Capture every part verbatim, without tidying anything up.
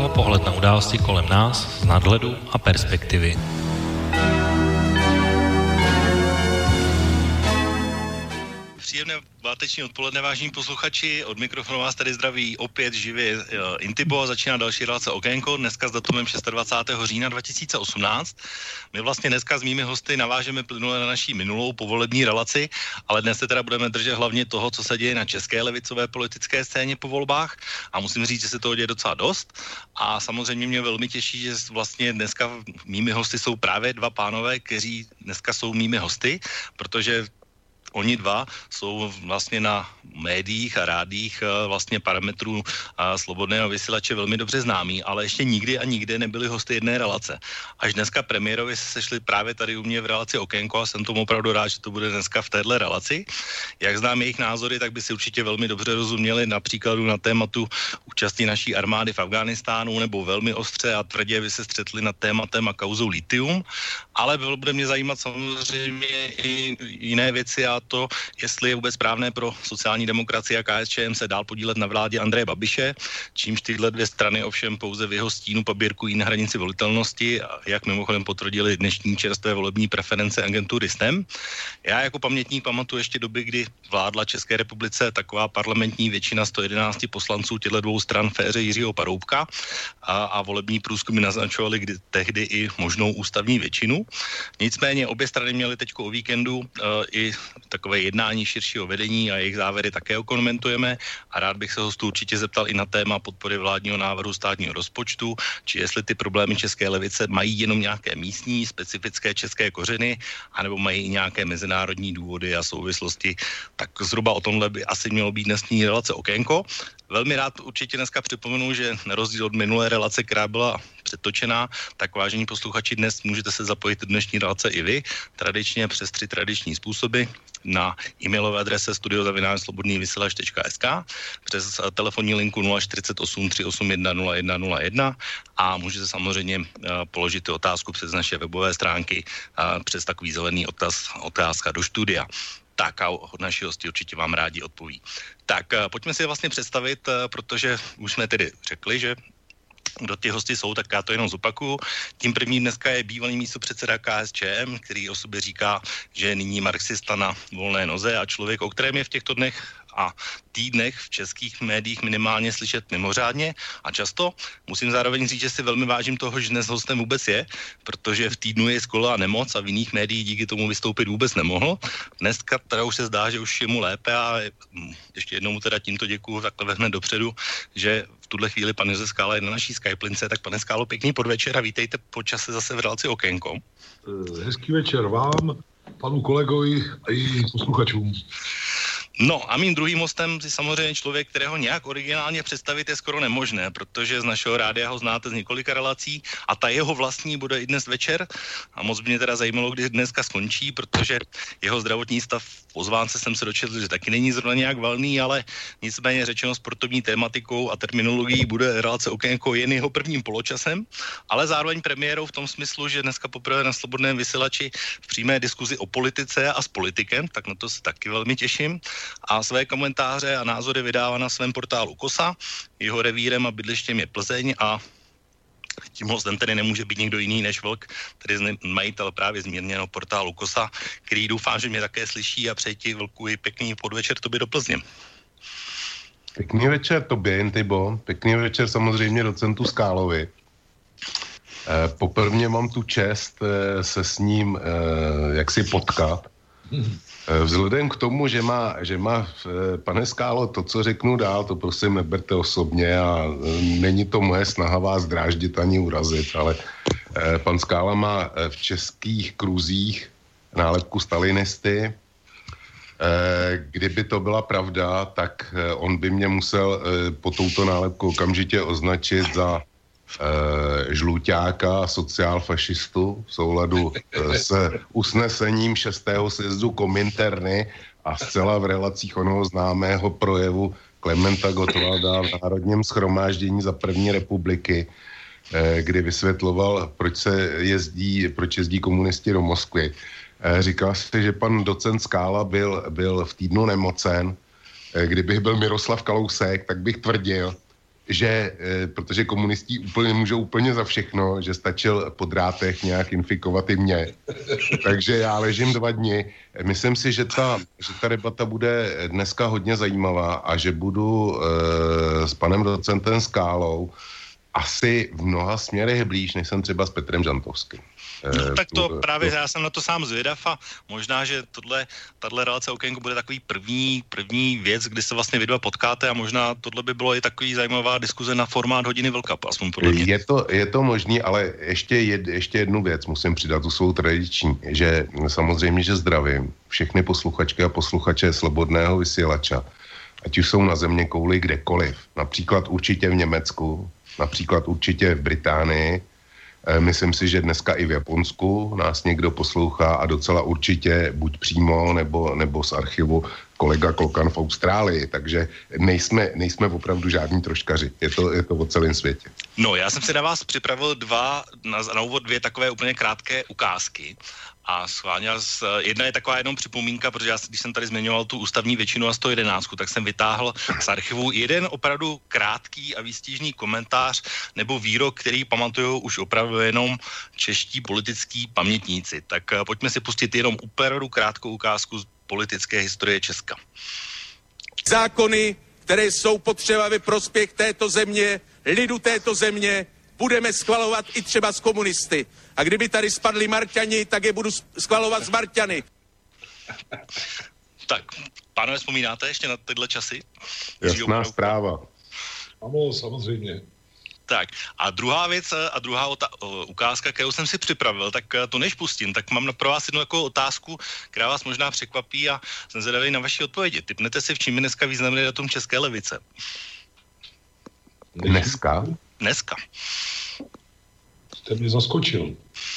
Okénko, pohled na události kolem nás z nadhledu a perspektivy. Příjemné páteční odpoledne, vážení posluchači. Od mikrofonu vás tady zdraví opět živě Intibo a začíná další relace Okénko. Dneska s datumem dvacátého šestého října dva tisíce osmnáct. My vlastně dneska s mými hosty navážeme plynule na naší minulou povolební relaci, ale dnes se teda budeme držet hlavně toho, co se děje na české levicové politické scéně po volbách. A musím říct, že se toho děje docela dost. A samozřejmě mě velmi těší, že vlastně dneska mými hosty jsou právě dva pánové, kteří dneska jsou mými hosty, protože oni dva jsou vlastně na médiích a rádích vlastně parametrů slobodného vysílače velmi dobře známí, ale ještě nikdy a nikde nebyli hosty jedné relace. Až dneska premiérovi se sešli právě tady u mě v relaci Okénko a jsem tomu opravdu rád, že to bude dneska v téhle relaci. Jak znám jejich názory, tak by si určitě velmi dobře rozuměli například na tématu účasti naší armády v Afghánistánu, nebo velmi ostře a tvrdě by se střetli nad tématem a kauzou litium, ale bude mě zajímat samozřejmě i jiné věci a to, jestli je vůbec správné pro sociální demokracii a K S Č M se dál podílet na vládě Andreje Babiše, čímž tyhle dvě strany ovšem pouze v jeho stínu paběrkují na hranici volitelnosti, jak mimochodem potvrdili dnešní čerstvé volební preference agentury S T E M. Já jako pamětník pamatuju ještě doby, kdy vládla České republice taková parlamentní většina sto jedenáct poslanců těchto dvou stran v éře Jiřího Paroubka a, a volební průzkumy naznačovaly kdy, tehdy i možnou ústavní většinu. Nicméně obě strany měly teďko o víkendu uh, i takové jednání širšího vedení a jejich závěry také okomentujeme a rád bych se hostů určitě zeptal i na téma podpory vládního návrhu státního rozpočtu, či jestli ty problémy české levice mají jenom nějaké místní, specifické české kořeny, anebo mají i nějaké mezinárodní důvody a souvislosti. Tak zhruba o tomhle by asi mělo být dnešní relace Okénko. Velmi rád určitě dneska připomenu, že na rozdíl od minulé relace, která byla předtočená, tak vážení posluchači, dnes můžete se zapojit do dnešní relace i vy, tradičně přes tři tradiční způsoby, na e-mailové adrese studio zavináč slobodný vysílač tečka es ká, přes telefonní linku nula čtyřicet osm tři osm jedna nula jedna nula jedna a můžete samozřejmě uh, položit otázku přes naše webové stránky uh, přes takový zelený otaz, otázka do studia. Tak a naši hosti určitě vám rádi odpoví. Tak uh, pojďme si je vlastně představit, uh, protože už jsme tedy řekli, že kdo ty hosti jsou, tak já to jenom zopakuju. Tím prvním dneska je bývalý místopředseda K S Č M, který o sobě říká, že je nyní marxista na volné noze a člověk, o kterém je v těchto dnech a týdnech v českých médiích minimálně slyšet mimořádně a často. Musím zároveň říct, že si velmi vážím toho, že dnes hostem vůbec je, protože v týdnu je skola nemoc a v jiných médiích díky tomu vystoupit vůbec nemohl. Dneska teda už se zdá, že už je mu lépe a ještě jednou mu teda tímto děkuju takhle hned dopředu, že v tuhle chvíli pan Josef Skála je na naší Skype lince. Tak pane Skálo, pěkný podvečer a vítejte po čase zase v relaci Okénko. Hezký večer vám, panu kolegovi a i posluchačům. No a mým druhým hostem je samozřejmě člověk, kterého nějak originálně představit je skoro nemožné, protože z našeho rádia ho znáte z několika relací a ta jeho vlastní bude i dnes večer a moc by mě teda zajímalo, kdy dneska skončí, protože jeho zdravotní stav v pozvánce jsem se dočetl, že taky není zrovna nějak valný, ale nicméně řečeno sportovní tématikou a terminologií bude relace Okénko jen jeho prvním poločasem, ale zároveň premiérou v tom smyslu, že dneska poprvé na slobodném vysílači v přímé diskuzi o politice a s politikem, tak na to se taky velmi těším. A své komentáře a názory vydává na svém portálu Kosa. Jeho revírem a bydlištěm je Plzeň a tím hostem tedy nemůže být někdo jiný než Vlk, tedy majitel právě zmírněného portálu Kosa, který doufám, že mě také slyší a přeji ti, Vlku, i pěkný podvečer tobě do Plzně. Pěkný večer tobě, Intibo. Pěkný večer samozřejmě docentu Skálovi. Eh, poprvně mám tu čest eh, se s ním eh, jaksi potkat. Vzhledem k tomu, že má, že má pane Skálo, to, co řeknu dál, to prosím neberte osobně a není to moje snaha vás dráždit ani urazit, ale pan Skála má v českých kruzích nálepku stalinisty. Kdyby to byla pravda, tak on by mě musel po touto nálepku okamžitě označit za E, žluťáka, sociálfašistu v souladu e, s usnesením šestého sjezdu Kominterny a zcela v relacích onoho známého projevu Klementa Gottwalda v Národním shromáždění za první republiky, e, kdy vysvětloval, proč se jezdí, proč jezdí komunisti do Moskvy. E, říkal si, že pan docent Skála byl, byl v týdnu nemocen. E, kdybych byl Miroslav Kalousek, tak bych tvrdil, že, e, protože komunisti úplně můžou úplně za všechno, že stačil po drátech nějak infikovat i mě. Takže já ležím dva dny. Myslím si, že ta, že ta debata bude dneska hodně zajímavá a že budu e, s panem docentem Skálou asi v mnoha směrech blíž, než jsem třeba s Petrem Žantovským. No, tak to právě, já jsem na to sám zvědav a možná, že tohle, tato relace Okénko bude takový první, první věc, kdy se vlastně vy dva potkáte a možná tohle by bylo i takový zajímavá diskuze na formát hodiny Vlka, aspoň podle mě. Je to, je to možný, ale ještě, jed, ještě jednu věc musím přidat, tu svou tradiční, že samozřejmě, že zdravím všechny posluchačky a posluchače Slobodného vysílača, ať už jsou na země kouli kdekoliv, například určitě v Německu, například určitě v Británii, myslím si, že dneska i v Japonsku nás někdo poslouchá a docela určitě buď přímo nebo, nebo z archivu kolega Klokan v Austrálii, takže nejsme, nejsme opravdu žádní troškaři, je to, je to o celém světě. No, já jsem si na vás připravil dva, na, na úvod dvě takové úplně krátké ukázky a schválně, jedna je taková jenom připomínka, protože já, když jsem tady zmiňoval tu ústavní většinu a sto jedenáct, tak jsem vytáhl z archivu jeden opravdu krátký a výstižný komentář nebo výrok, který pamatují už opravdu jenom čeští politický pamětníci. Tak pojďme si pustit jenom opravdu krátkou ukázku z politické historie Česka. Zákony, které jsou potřeba ve prospěch této země, lidu této země, budeme schvalovat i třeba s komunisty. A kdyby tady spadli Marťani, tak je budu schvalovat s Marťany. Tak, pánové, vzpomínáte ještě na tyhle časy? Jasná zpráva. Ano, samozřejmě. Tak a druhá věc a druhá ota- ukázka, kterou jsem si připravil, tak to než pustím, tak mám pro vás jednu takovou otázku, která vás možná překvapí a jsem zvědavý na vaši odpovědi. Tipnete si, v čím je dneska významný datum české levice? Dneska? Dneska. Jste mě zaskočil.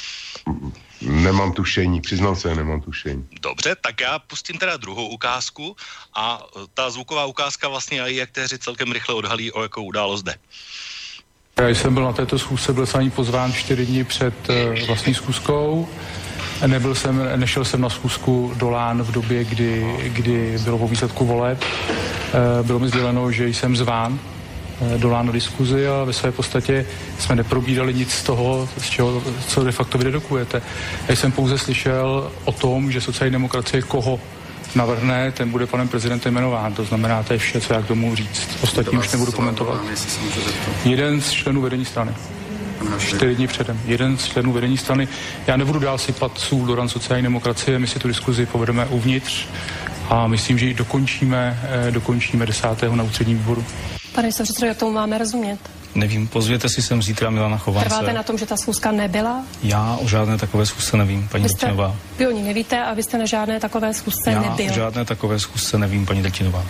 Nemám tušení, přiznám se, nemám tušení. Dobře, tak já pustím teda druhou ukázku a ta zvuková ukázka vlastně i aktéři celkem rychle odhalí, o jakou událost jde. Já jsem byl na této schůzce, byl jsem ani pozván čtyři dny před uh, vlastní schůzkou. Nebyl jsem, nešel jsem na schůzku do Lán v době, kdy, kdy bylo po výsledku voleb. Uh, bylo mi sděleno, že jsem zván uh, do Lán na diskuzi a ve své podstatě jsme neprobírali nic z toho, z čeho, co de facto vy dedukujete. Já jsem pouze slyšel o tom, že sociální demokracie koho navrhne, ten bude panem prezidentem jmenován. To znamená, to je vše, co já k tomu říct. Ostatní už nebudu komentovat. Jeden z členů vedení strany. Čtyři dny předem. Jeden z členů vedení strany. Já nebudu dál sypat sůl do ran sociální demokracie, my si tu diskuzi povedeme uvnitř a myslím, že ji dokončíme, dokončíme desátého na ústředním výboru. Pane předsedo, jak tomu máme rozumět? Nevím, pozvěte si sem zítra Milana Chovance. Trváte na tom, že ta schůzka nebyla? Já o žádné takové schůzce nevím, paní Drtinová. Vy o ní nevíte a vy jste na žádné takové schůzce Já nebyl. Já o žádné takové schůzce nevím, paní Drtinová.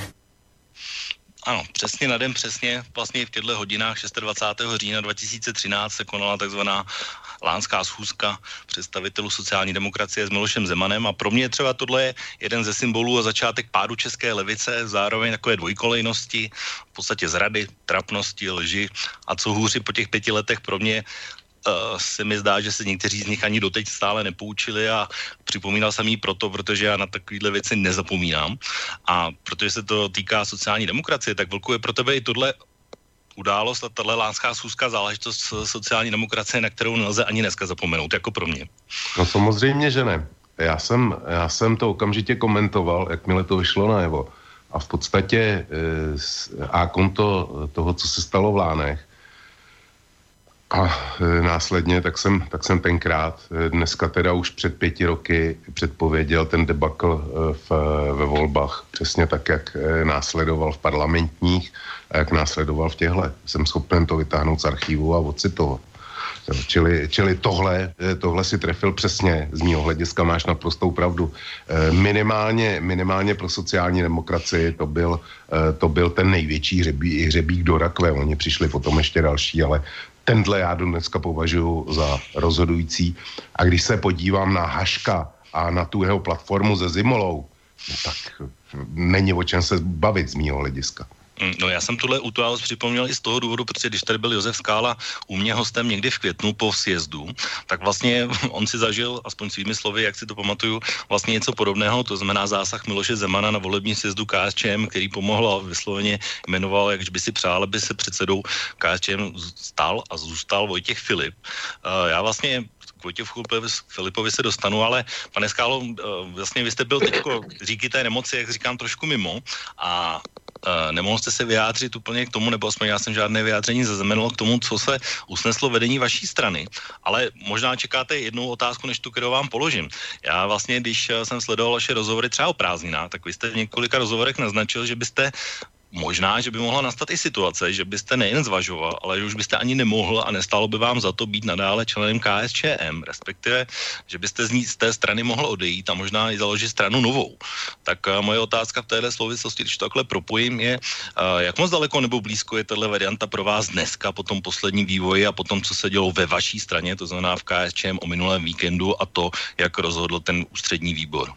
Ano, přesně na den přesně, vlastně v těchto hodinách dvacátého šestého října dva tisíce třináct se konala takzvaná lánská schůzka představitelů sociální demokracie s Milošem Zemanem a pro mě třeba tohle je jeden ze symbolů a začátek pádu české levice, zároveň takové dvojkolejnosti, v podstatě zrady, trapnosti, lži a co hůři po těch pěti letech pro mě Uh, se mi zdá, že se někteří z nich ani doteď stále nepoučili a připomínal jsem jí proto, protože já na takovéhle věci nezapomínám a protože se to týká sociální demokracie, tak Vlku je pro tebe i tohle událost a tahle lánská schůzka záležitost sociální demokracie, na kterou nelze ani dneska zapomenout, jako pro mě. No samozřejmě, že ne. Já jsem, já jsem to okamžitě komentoval, jakmile to vyšlo najevo a v podstatě e, a konto toho, co se stalo v Lánech, a e, následně tak jsem, tak jsem tenkrát, e, dneska teda už před pěti roky předpověděl ten debakl e, v, ve volbách, přesně tak, jak e, následoval v parlamentních a jak následoval v těchhle. Jsem schopen to vytáhnout z archivu a ocitovat. Čili, čili tohle, tohle si trefil přesně, z mýho hlediska máš naprostou pravdu. E, minimálně, minimálně pro sociální demokracii to byl, e, to byl ten největší hřebí, hřebík do rakve. Oni přišli potom ještě další, ale tenhle já dneska považuji za rozhodující. A když se podívám na Haška a na tu jeho platformu se Zimolou, no tak není o čem se bavit z mýho hlediska. No já jsem tuhle událost připomněl i z toho důvodu, protože když tady byl Josef Skála u mě hostem někdy v květnu po sjezdu, tak vlastně on si zažil, aspoň svými slovy, jak si to pamatuju, vlastně něco podobného, to znamená zásah Miloše Zemana na volební sjezdu K S Č M, který pomohl a vysloveně jmenoval, jakž by si přál, aby se předsedou K S Č M stal a zůstal Vojtěch Filip. Já vlastně k Vojtěchu Filipovi se dostanu, ale pane Skálo, vlastně vy jste byl teďko díky té nemoci, jak říkám, trošku mimo a Uh, nemohl jste se vyjádřit úplně k tomu, nebo aspoň já jsem žádné vyjádření zaznamenal k tomu, co se usneslo vedení vaší strany. Ale možná čekáte jednu otázku, než tu, kterou vám položím. Já vlastně, když jsem sledoval vaše rozhovory třeba o prázdninách, tak vy jste v několika rozhovorech naznačil, že byste možná, že by mohla nastat i situace, že byste nejen zvažoval, ale že už byste ani nemohl a nestalo by vám za to být nadále členem K S Č M, respektive, že byste z, ní, z té strany mohl odejít a možná i založit stranu novou. Tak uh, moje otázka v téhle souvislosti, když to takhle propojím, je, uh, jak moc daleko nebo blízko je tahle varianta pro vás dneska po tom posledním vývoji a po tom, co se dělo ve vaší straně, to znamená v K S Č M o minulém víkendu a to, jak rozhodl ten ústřední výbor?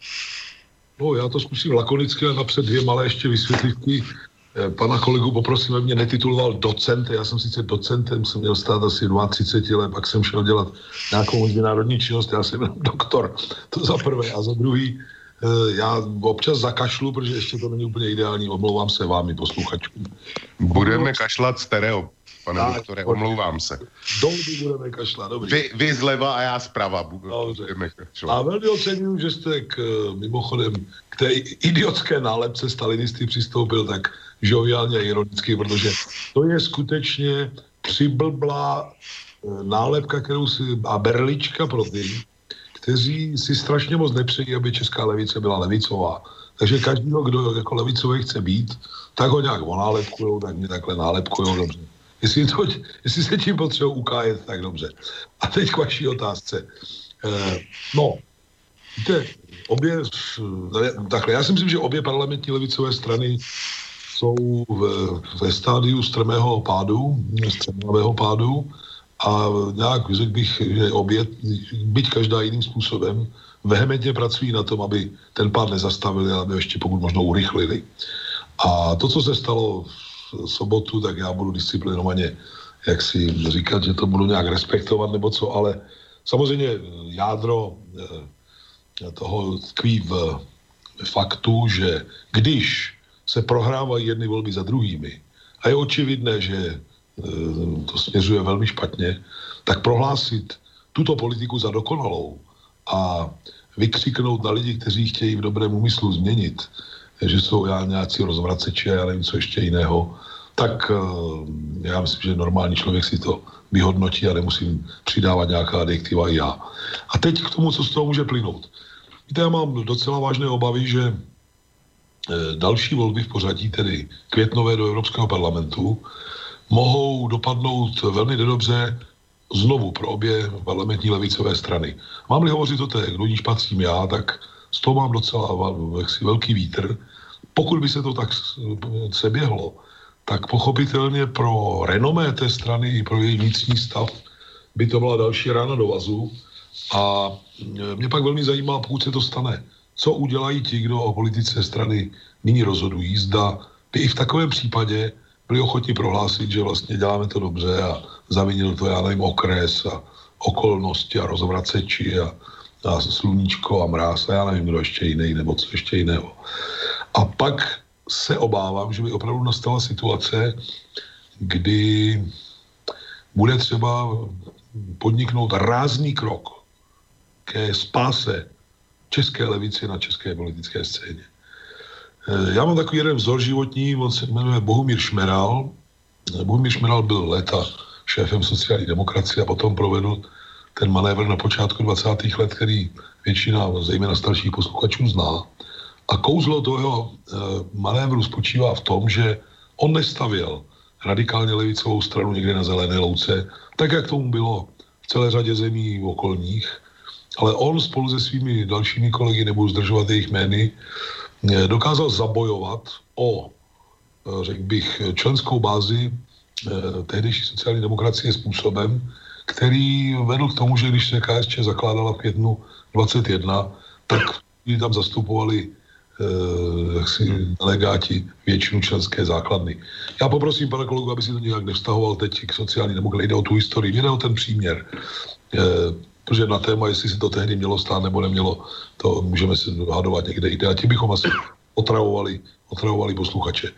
No, já to zkusím lakonicky a napřed dvě malé ještě vysvětlivky. Pana kolegu poprosím, aby mě netituloval docent. Já jsem sice docentem, jsem měl stát asi třicet dva let, pak jsem šel dělat nějakou mezinárodní činnost, já jsem doktor. To za prvé. A za druhý, já občas zakašlu, protože ještě to není úplně ideální, omlouvám se vám i posluchačům. Budeme kašlat stereo, pane tak, doktore, omlouvám se. Dolby budeme kašlat, dobrý. Vy, vy zleva a já zprava budeme kašlat. A velmi ocením, že jste k, mimochodem k té idiotské nálepce stalinisty přistoupil tak žoviálně a ironicky, protože to je skutečně přiblblá nálepka, kterou si, a berlička pro ty, kteří si strašně moc nepřejí, aby česká levice byla levicová. Takže každýho, kdo jako levicový chce být, tak ho nějak onálepkujou, tak mě takhle nálepkujou, dobře. Jestli, to, jestli se tím potřebují ukájet, tak dobře. A teď k vaší otázce. Eh, no, víte, obě, takhle, já si myslím, že obě parlamentní levicové strany jsou ve, ve stádiu strmého pádu, strmého pádu a nějak řekl bych, že obě, byť každá jiným způsobem, vehementně pracují na tom, aby ten pád nezastavili, aby ještě pokud možno urychlili. A to, co se stalo v sobotu, tak já budu disciplinovaně, jak si říkat, že to budu nějak respektovat nebo co, ale samozřejmě jádro toho tkví v faktu, že když se prohrávají jedny volby za druhými a je očividné, že to směřuje velmi špatně, tak prohlásit tuto politiku za dokonalou a vykřiknout na lidi, kteří chtějí v dobrém úmyslu změnit, že jsou já nějací rozvraceči a já nevím, co ještě jiného, tak já myslím, že normální člověk si to vyhodnotí a nemusím přidávat nějaká adjektiva i já. A teď k tomu, co z toho může plynout. Víte, já mám docela vážné obavy, že další volby v pořadí, tedy květnové do Evropského parlamentu, mohou dopadnout velmi nedobře znovu pro obě parlamentní levicové strany. Mám-li hovořit o té, kdo níž patřím já, tak z toho mám docela jaksi velký vítr. Pokud by se to tak seběhlo, tak pochopitelně pro renomé té strany i pro její vnitřní stav by to byla další rána do vazu. A mě pak velmi zajímá, pokud se to stane, co udělají ti, kdo o politice strany nyní rozhodují. Zda by i v takovém případě byli ochotni prohlásit, že vlastně děláme to dobře a zavinil to, já nevím, okres a okolnosti a rozvraceči a, a sluníčko a mráz a já nevím, kdo ještě jiný nebo co ještě jiného. A pak se obávám, že by opravdu nastala situace, kdy bude třeba podniknout rázný krok ke spáse české levici na české politické scéně. Já mám takový jeden vzor životní, on se jmenuje Bohumír Šmeral. Bohumír Šmeral byl léta šéfem sociální demokracie a potom provedl ten manévr na počátku dvacátých let, který většina, zejména starších posluchačů, zná. A kouzlo toho manévru spočívá v tom, že on nestavěl radikálně levicovou stranu někde na zelené louce, tak jak tomu bylo v celé řadě zemí okolních, ale on spolu se svými dalšími kolegy, nebudu zdržovat jejich jmény, dokázal zabojovat o, řekl bych, členskou bázi tehdejší sociální demokracie způsobem, který vedl k tomu, že když se K S Č zakládala v květnu dvacet jedna, tak tam zastupovali jaksi delegáti většinu členské základny. Já poprosím pana kolegu, aby si to nějak nevztahoval teď k sociální demokracii, jde o tu historii, jde o ten příměr. E, protože na téma, jestli se to tehdy mělo stát nebo nemělo, to můžeme se dohadovat někde jinde. A tím bychom asi otravovali, otravovali posluchače.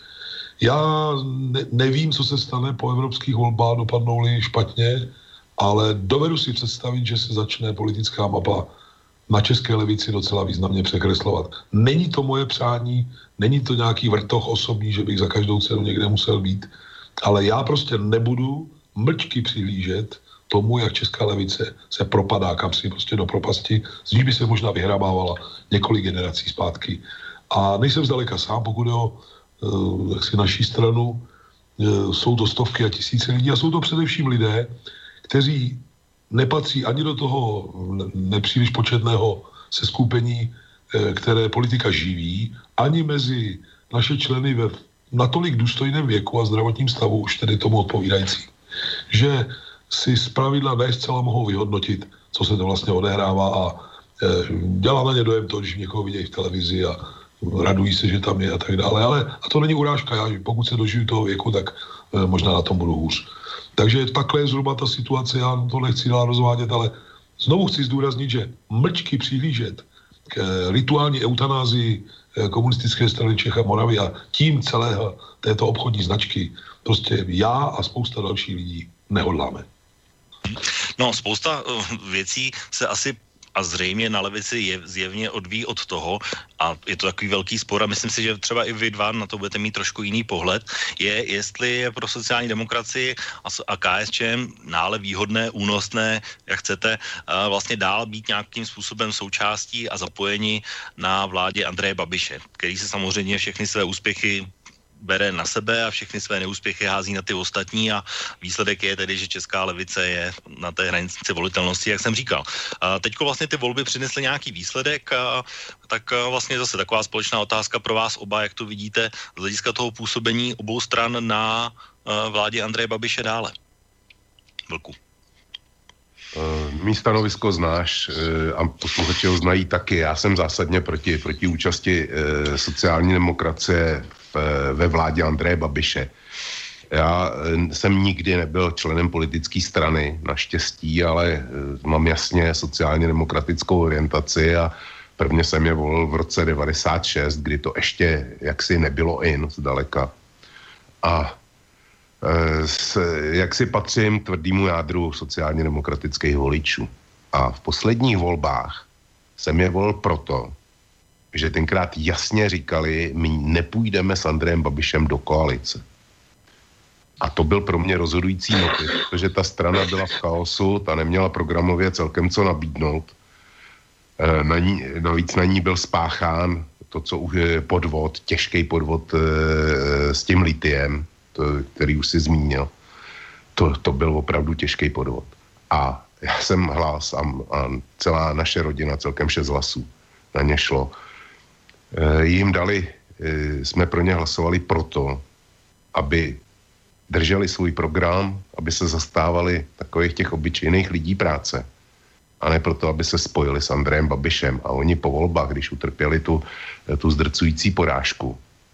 Já ne, nevím, co se stane po evropských volbách, dopadnou-li špatně, ale dovedu si představit, že se začne politická mapa na české levici docela významně překreslovat. Není to moje přání, není to nějaký vrtoch osobní, že bych za každou cenu někde musel být, ale já prostě nebudu mlčky přihlížet tomu, jak česká levice se propadá kamsi prostě do propasti, z ní by se možná vyhrabávala několik generací zpátky. A nejsem zdaleka sám, pokud je o uh, jaksi naší stranu, uh, jsou to stovky a tisíce lidí a jsou to především lidé, kteří nepatří ani do toho nepříliš početného seskupení, které politika živí, ani mezi naše členy ve natolik důstojném věku a zdravotním stavu, už tedy tomu odpovídající, že si zpravidla ne zcela mohou vyhodnotit, co se to vlastně odehrává a dělá na ně dojem to, když někoho vidějí v televizi a radují se, že tam je a tak dále. Ale a to není urážka, já pokud se dožiju toho věku, tak možná na tom budu hůř. Takže takhle je zhruba ta situace, já to nechci dál rozvádět, ale znovu chci zdůraznit, že mlčky přihlížet k rituální eutanázii komunistické strany Čech a Moravy a tím celého této obchodní značky prostě já a spousta dalších lidí nehodláme. No, spousta věcí se asi a zřejmě na levici je zjevně odvíjí od toho, a je to takový velký spor a myslím si, že třeba i vy dva na to budete mít trošku jiný pohled, je, jestli je pro sociální demokracii a KSČM nále výhodné, únosné, jak chcete, vlastně dál být nějakým způsobem součástí a zapojení na vládě Andreje Babiše, který se samozřejmě všechny své úspěchy bere na sebe a všechny své neúspěchy hází na ty ostatní a výsledek je tedy, že česká levice je na té hranici volitelnosti, jak jsem říkal. A teďko vlastně ty volby přinesly nějaký výsledek, a tak vlastně zase taková společná otázka pro vás oba, jak to vidíte z hlediska toho působení obou stran na vládě Andreje Babiše dále. Vlku. Mý stanovisko znáš a posluchači ho znají taky. Já jsem zásadně proti, proti účasti sociální demokracie ve vládě Andreje Babiše. Já jsem nikdy nebyl členem politické strany, naštěstí, ale mám jasně sociálně demokratickou orientaci a prvně jsem je volil v roce devadesát šest, kdy to ještě jaksi nebylo in zdaleka. A s, jaksi patřím tvrdýmu jádru sociálně demokratických voličů. A v posledních volbách jsem je volil proto, že tenkrát jasně říkali, my nepůjdeme s Andrejem Babišem do koalice. A to byl pro mě rozhodující motiv, protože ta strana byla v chaosu, ta neměla programově celkem co nabídnout. Na ní, navíc na ní byl spáchán to, co už je podvod, těžký podvod e, s tím litiem, to, který už si zmínil. To, to byl opravdu těžký podvod. A já jsem hlas a, a celá naše rodina, celkem šest hlasů na ně šlo. E, jim dali, e, jsme pro ně hlasovali proto, aby drželi svůj program, aby se zastávali takových těch obyčejných lidí práce. A ne proto, aby se spojili s Andrejem Babišem. A oni po volbách, když utrpěli tu, tu zdrcující porážku,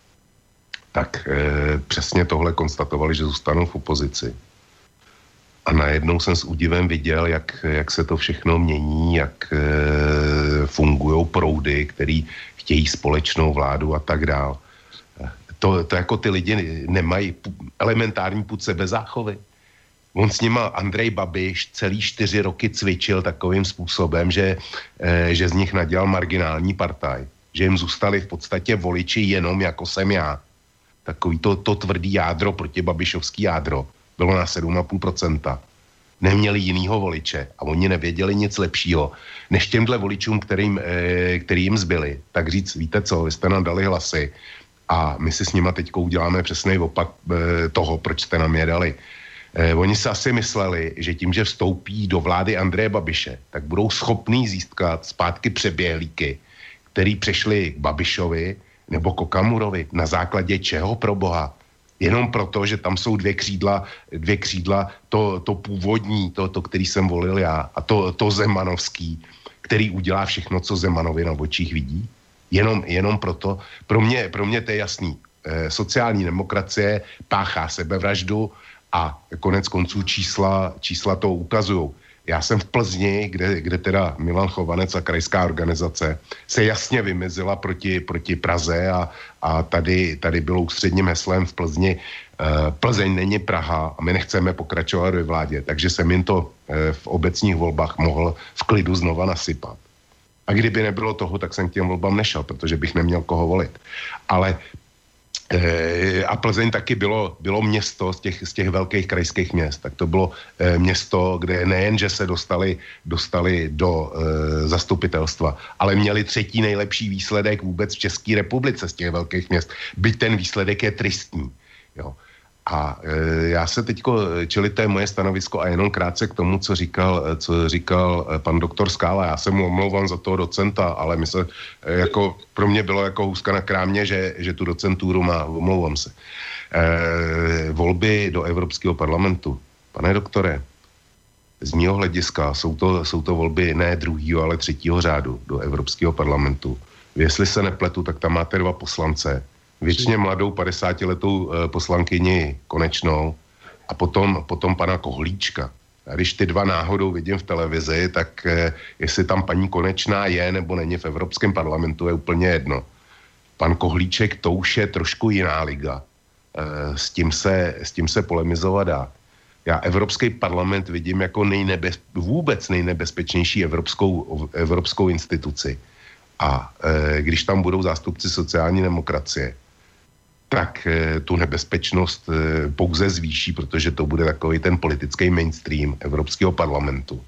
tak e, přesně tohle konstatovali, že zůstanou v opozici. A najednou jsem s údivem viděl, jak, jak se to všechno mění, jak e, fungují proudy, který chtějí společnou vládu a tak dál. To, to jako ty lidi nemají elementární pud sebezáchovy. On s nima, Andrej Babiš, celý čtyři roky cvičil takovým způsobem, že, e, že z nich nadělal marginální partaj. Že jim zůstali v podstatě voliči jenom jako jsem já. Takový to, to tvrdý jádro, proti Babišovský jádro, bylo na sedm celá pět procenta. Neměli jinýho voliče a oni nevěděli nic lepšího, než těmhle voličům, kterým, e, který jim zbyli. Tak říct, víte co, vy jste nám dali hlasy a my si s nima teďko uděláme přesný opak e, toho, proč jste nám je dali. Eh, oni se asi mysleli, že tím, že vstoupí do vlády Andreje Babiše, tak budou schopní získat zpátky přeběhlíky, který přešli k Babišovi nebo k Okamurovi. Na základě čeho pro boha? Jenom proto, že tam jsou dvě křídla, dvě křídla, to, to původní, to, to, který jsem volil já, a to, to zemanovský, který udělá všechno, co Zemanovi na očích vidí. Jenom, jenom proto, pro mě, pro mě to je jasný. E, sociální demokracie páchá sebevraždu a konec konců čísla, čísla to ukazují. Já jsem v Plzni, kde, kde teda Milan Chovanec a krajská organizace se jasně vymezila proti, proti Praze a, a tady, tady bylo ústředním heslem v Plzni e, Plzeň není Praha a my nechceme pokračovat ve vládě, takže jsem jim to e, v obecních volbách mohl v klidu znova nasypat. A kdyby nebylo toho, tak jsem k těm volbám nešel, protože bych neměl koho volit. Ale e, a Plzeň taky bylo, bylo město z těch, z těch velkých krajských měst. Tak to bylo e, město, kde nejen, že se dostali, dostali do e, zastupitelstva, ale měli třetí nejlepší výsledek vůbec v České republice z těch velkých měst. Byť ten výsledek je tristní. Jo. A e, já se teďko, čili to je moje stanovisko a jenom krátce k tomu, co říkal, co říkal pan doktor Skála. Já se mu omlouvám za toho docenta, ale my se, e, jako, pro mě bylo jako hůzka na krámě, že, že tu docentúru má, omlouvám se. E, volby do Evropského parlamentu. Pane doktore, z mého hlediska jsou to, jsou to volby ne druhýho, ale třetího řádu do Evropského parlamentu. Jestli se nepletu, tak tam máte dva poslance, většině mladou padesátiletou e, poslankyni Konečnou a potom, potom pana Kohlíčka. A když ty dva náhodou vidím v televizi, tak e, jestli tam paní Konečná je nebo není v Evropském parlamentu, je úplně jedno. Pan Kohlíček, to už je trošku jiná liga. E, s, tím se, s tím se polemizovat dá. Já Evropský parlament vidím jako nejnebez, vůbec nejnebezpečnější evropskou, evropskou instituci. A e, když tam budou zástupci sociální demokracie, tak e, tu nebezpečnost e, pouze zvýší, protože to bude takový ten politický mainstream Evropského parlamentu.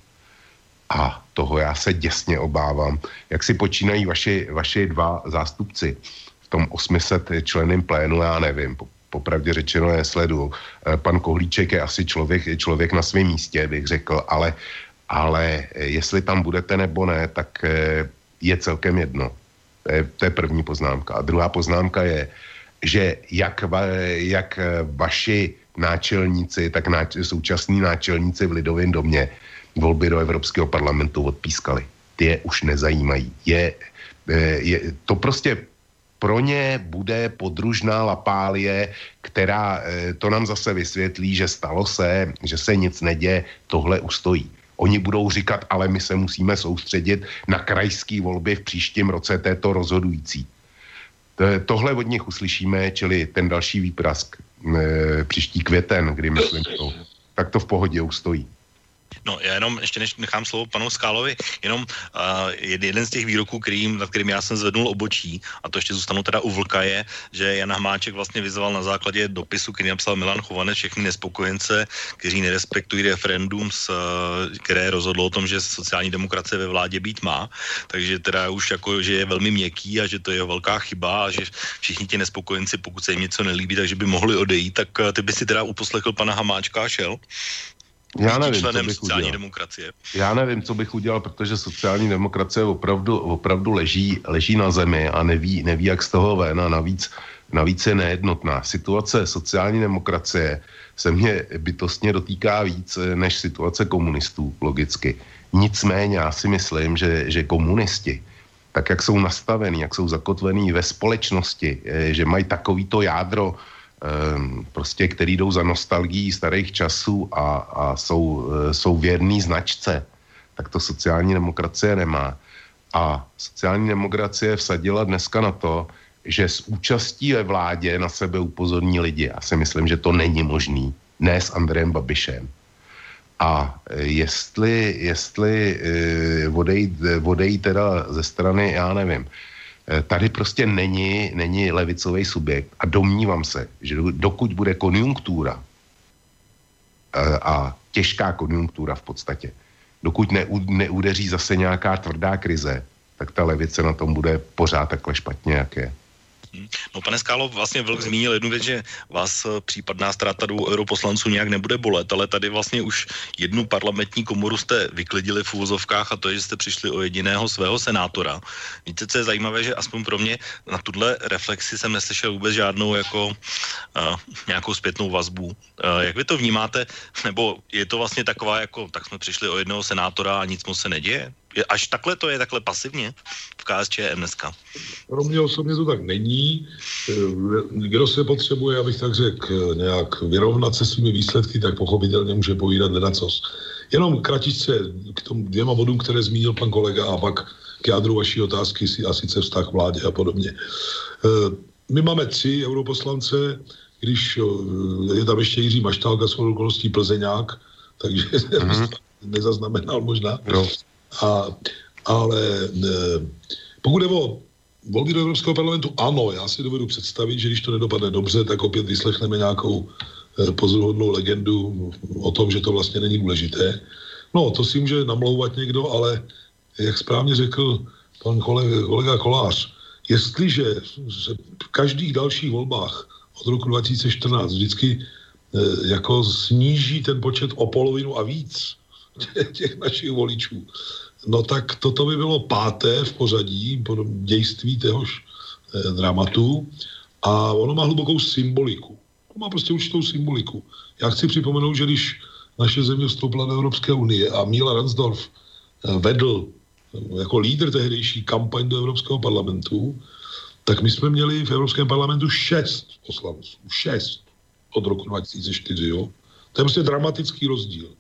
A toho já se děsně obávám. Jak si počínají vaši, vaši dva zástupci v tom osm set členném plénu, já nevím, po, popravdě řečeno je sleduju. E, pan Kohlíček je asi člověk, člověk na svém místě, bych řekl, ale, ale jestli tam budete nebo ne, tak e, je celkem jedno. To je, to je první poznámka. A druhá poznámka je, že jak, va, jak vaši náčelníci, tak náč, současní náčelníci v Lidovém domě volby do Evropského parlamentu odpískali. Ty je už nezajímají. Je, je, to prostě pro ně bude podružná lapálie, která to nám zase vysvětlí, že stalo se, že se nic neděje, tohle ustojí. Oni budou říkat, ale my se musíme soustředit na krajské volby v příštím roce, to je to rozhodující. Tohle od nich uslyšíme, čili ten další výprask e, příští květen, kdy myslím to, tak to v pohodě ustojí. No, já jenom, ještě než nechám slovo panu Skálovi, jenom uh, jeden z těch výroků, kterým, nad kterým já jsem zvednul obočí, a to ještě zůstanu teda u Vlka, je, že Jan Hamáček vlastně vyzval na základě dopisu, který napsal Milan Chovanec, všechny nespokojence, kteří nerespektují referendum, s, které rozhodlo o tom, že sociální demokracie ve vládě být má, takže teda už jako, že je velmi měkký a že to je velká chyba a že všichni ti nespokojenci, pokud se jim něco nelíbí, takže by mohli odejít, tak ty by si teda uposlechl pana Hamáčka a šel? Já nevím, co bych sociální udělal. Demokracie. Já nevím, co bych udělal, protože sociální demokracie opravdu, opravdu leží, leží na zemi a neví, neví, jak z toho ven a navíc, navíc je nejednotná. Situace sociální demokracie se mě bytostně dotýká víc než situace komunistů, logicky. Nicméně já si myslím, že, že komunisti, tak jak jsou nastavení, jak jsou zakotvení ve společnosti, že mají takovýto jádro, prostě, který jdou za nostalgií starých časů a, a jsou, jsou věrný značce, tak to sociální demokracie nemá. A sociální demokracie vsadila dneska na to, že s účastí ve vládě na sebe upozorní lidi. Já si myslím, že to není možný. Ne s Andrejem Babišem. A jestli, jestli odejít, odejít teda ze strany, já nevím, tady prostě není, není levicový subjekt a domnívám se, že dokud bude konjunktura a těžká konjunktura v podstatě, dokud neudeří zase nějaká tvrdá krize, tak ta levice na tom bude pořád takhle špatně, jak je. No, pane Skálo, vlastně Vlk zmínil jednu věc, že vás případná ztráta dvou europoslanců nějak nebude bolet, ale tady vlastně už jednu parlamentní komoru jste vyklidili v úvozovkách a to je, že jste přišli o jediného svého senátora. Víte, co je zajímavé, že aspoň pro mě na tuhle reflexi jsem neslyšel vůbec žádnou jako uh, nějakou zpětnou vazbu. Uh, jak vy to vnímáte? Nebo je to vlastně taková jako, tak jsme přišli o jednoho senátora a nic moc se neděje? Až takhle to je, takhle pasivně v K S Č M dneska? Pro mě osobně to tak není. Kdo se potřebuje, abych tak řekl, nějak vyrovnat se svými výsledky, tak pochopitelně může povídat ledacos. Jenom kratičce k tomu dvěma bodům, které zmínil pan kolega, a pak k jádru vaší otázky, a sice vztah vládě a podobně. My máme tři europoslance, když je tam ještě Jiří Maštálka, svou okolností Plzeňák, takže mm-hmm. nezaznamenal možná. No. A, ale ne, pokud je o volby do Evropského parlamentu, ano, já si dovedu představit, že když to nedopadne dobře, tak opět vyslechneme nějakou eh, pozoruhodnou legendu o tom, že to vlastně není důležité. No, to si může namlouvat někdo, ale jak správně řekl pan kolega, kolega Kolář, jestliže se v každých dalších volbách od roku dva tisíce čtrnáct vždycky eh, jako sníží ten počet o polovinu a víc těch, těch našich voličů, no tak toto by bylo páté v pořadí dějství téhož eh, dramatu a ono má hlubokou symboliku. To má prostě určitou symboliku. Já chci připomenout, že když naše země vstoupila do Evropské unie a Míla Ransdorf eh, vedl eh, jako lídr tehdejší kampaň do Evropského parlamentu, tak my jsme měli v Evropském parlamentu šest poslanců. Šest od roku dva tisíce čtyři, jo. To je prostě dramatický rozdíl.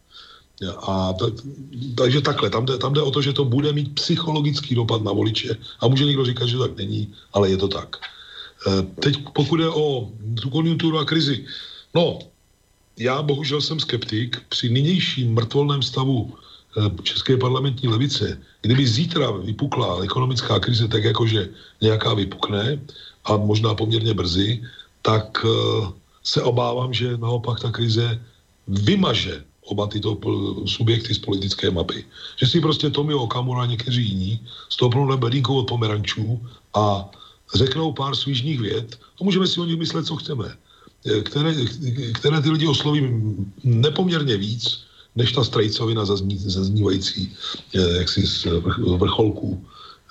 A ta, takže takhle, tam jde, tam jde o to, že to bude mít psychologický dopad na voliče a může někdo říkat, že tak není, ale je to tak. Teď pokud je o tu konjunkturu a krizi, no, já bohužel jsem skeptik při nynějším mrtvolném stavu české parlamentní levice, kdyby zítra vypukla ekonomická krize tak jakože nějaká vypukne a možná poměrně brzy, tak se obávám, že naopak ta krize vymaže oba tyto subjekty z politické mapy. Že si prostě Tomio Okamura a někteří jiní stoupnou na bedínkou od pomerančů a řeknou pár svížných vět a můžeme si o nich myslet, co chceme. Které, které ty lidi osloví nepoměrně víc, než ta strejcovina zazní, zaznívající jaksi z vrcholků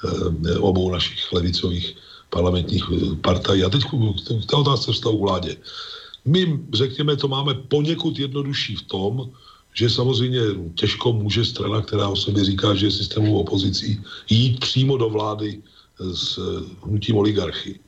obou našich levicových parlamentních partají. A teď v té otázce vztahu vládě. My, řekněme, to máme poněkud jednodušší v tom, že samozřejmě těžko může strana, která o sobě říká, že je systémovou opozicí, jít přímo do vlády s hnutím oligarchy.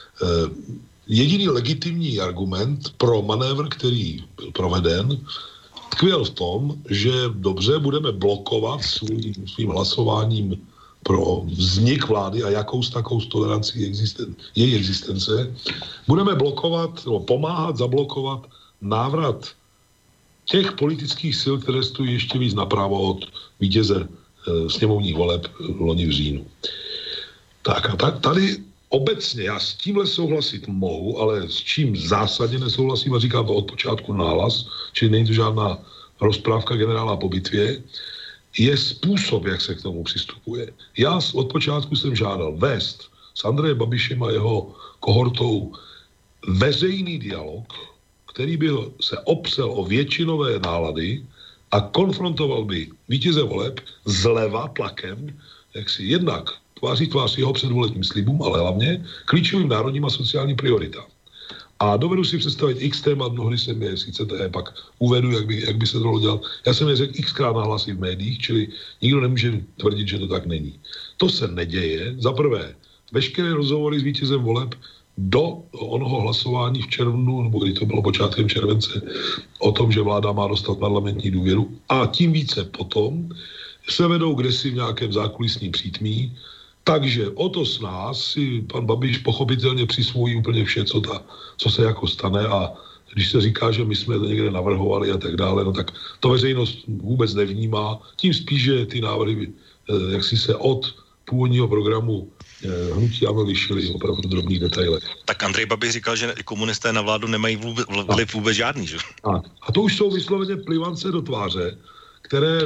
Jediný legitimní argument pro manévr, který byl proveden, tkvěl v tom, že dobře budeme blokovat svým, svým hlasováním pro vznik vlády a jakou s takou tolerancí existen, její existence, budeme blokovat, nebo pomáhat zablokovat návrat těch politických sil, které stojí ještě víc napravo od vítěze e, sněmovních voleb loni v říjnu. Tak a tak, tady obecně já s tímhle souhlasit mohu, ale s čím zásadně nesouhlasím a říkám to od počátku nahlas, čili není to žádná rozprávka generála po bitvě, je způsob, jak se k tomu přistupuje. Já od počátku jsem žádal vést s Andrejem Babišem a jeho kohortou veřejný dialog, který by se opřel o většinové nálady a konfrontoval by vítěze voleb zleva tlakem, jak si jednak tváří tvář jeho předvolebním slibům, ale hlavně klíčovým národním a sociálním prioritám. A dovedu si představit x témat, mnohdy jsem je, sice to je, pak uvedu, jak by, jak by se to dalo dělat. Já jsem je řekl xkrát nahlas i v médiích, čili nikdo nemůže tvrdit, že to tak není. To se neděje. Za prvé, veškeré rozhovory s vítězem voleb do onoho hlasování v červnu, nebo kdy to bylo počátkem července, o tom, že vláda má dostat parlamentní důvěru, a tím více potom se vedou kdesi v nějakém zákulisním přítmí. Takže o to s nás si pan Babiš pochopitelně přisvojí úplně vše, co, ta, co se jako stane, a když se říká, že my jsme to někde navrhovali a tak dále, no tak to veřejnost vůbec nevnímá. Tím spíš, že ty návrhy jak si se od původního programu hnutí ANO lišily opravdu v drobných detailech. Tak Andrej Babiš říkal, že komunisté na vládu nemají vůbec, vliv vůbec žádný, že? A, a to už jsou vysloveně plivance do tváře, které,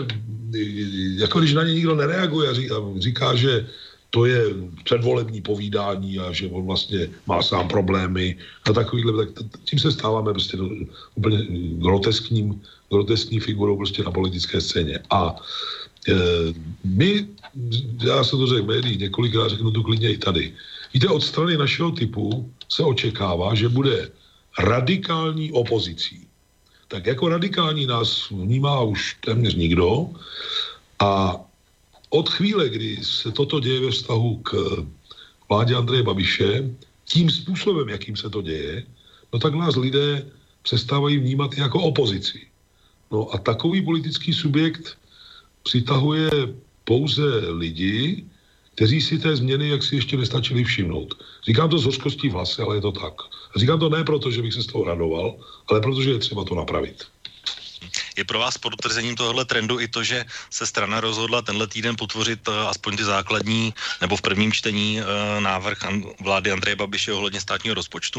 jako když na ně nikdo nereaguje a říká, říká že to je předvolební povídání a že on vlastně má sám problémy a takovýhle, tak tím se stáváme prostě do, úplně groteskním, groteskní figurou prostě na politické scéně. A e, my, já jsem to řekl v médiích několikrát, řeknu to klidně i tady. Víte, od strany našeho typu se očekává, že bude radikální opozicí. Tak jako radikální nás vnímá už téměř nikdo a od chvíle, kdy se toto děje ve vztahu k vládě Andreje Babiše, tím způsobem, jakým se to děje, no tak nás lidé přestávají vnímat jako opozici. No a takový politický subjekt přitahuje pouze lidi, kteří si té změny jaksi ještě nestačili všimnout. Říkám to s hořkostí v hlase, ale je to tak. A říkám to ne proto, že bych se z toho radoval, ale protože je třeba to napravit. Je pro vás potvrzením tohohle trendu i to, že se strana rozhodla tenhle týden potvořit aspoň ty základní, nebo v prvním čtení návrh vlády Andreje Babiše ohledně státního rozpočtu?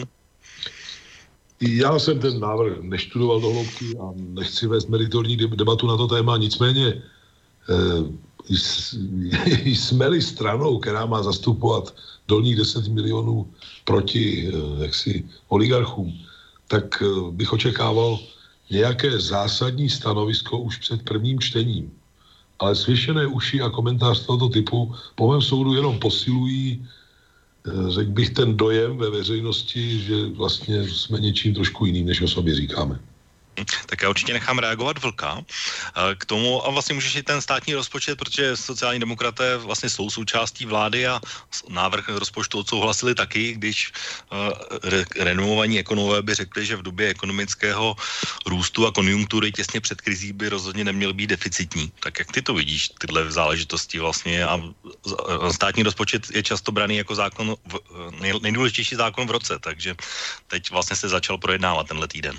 Já jsem ten návrh neštudoval do hloubky a nechci vést meritorní debatu na to téma, nicméně jsme-li stranou, která má zastupovat dolních deset milionů proti jaksi oligarchům, tak bych očekával nějaké zásadní stanovisko už před prvním čtením. Ale svěšené uši a komentář tohoto typu po mém soudu jenom posilují, řekl bych, ten dojem ve veřejnosti, že vlastně jsme něčím trošku jiným, než o sobě říkáme. Tak já určitě nechám reagovat Vlka k tomu a vlastně můžeš i ten státní rozpočet, protože sociální demokraté vlastně jsou součástí vlády a návrh rozpočtu odsouhlasili taky, když re- renomovaní ekonomové by řekli, že v době ekonomického růstu a konjunktury těsně před krizí by rozhodně neměl být deficitní. Tak jak ty to vidíš, tyhle záležitosti vlastně, a státní rozpočet je často braný jako zákon, v, nej, nejdůležitější zákon v roce, takže teď vlastně se začal projednávat tenhle týden.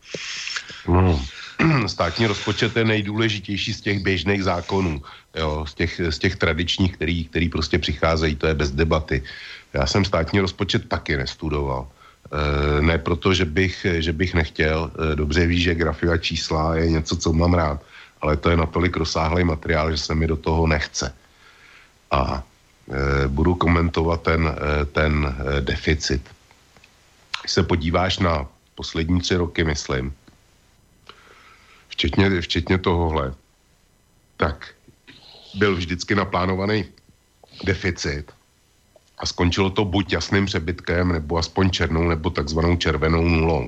No, státní rozpočet je nejdůležitější z těch běžných zákonů, jo, z těch, z těch tradičních, který, který prostě přicházejí, to je bez debaty. Já jsem státní rozpočet taky nestudoval. E, ne proto, že bych, že bych nechtěl, e, dobře víš, že grafy a čísla je něco, co mám rád, ale to je natolik rozsáhlý materiál, že se mi do toho nechce. A e, budu komentovat ten, e, ten e, deficit. Když se podíváš na poslední tři roky, myslím, Včetně, včetně tohohle, tak byl vždycky naplánovaný deficit a skončilo to buď jasným přebytkem, nebo aspoň černou, nebo takzvanou červenou nulou.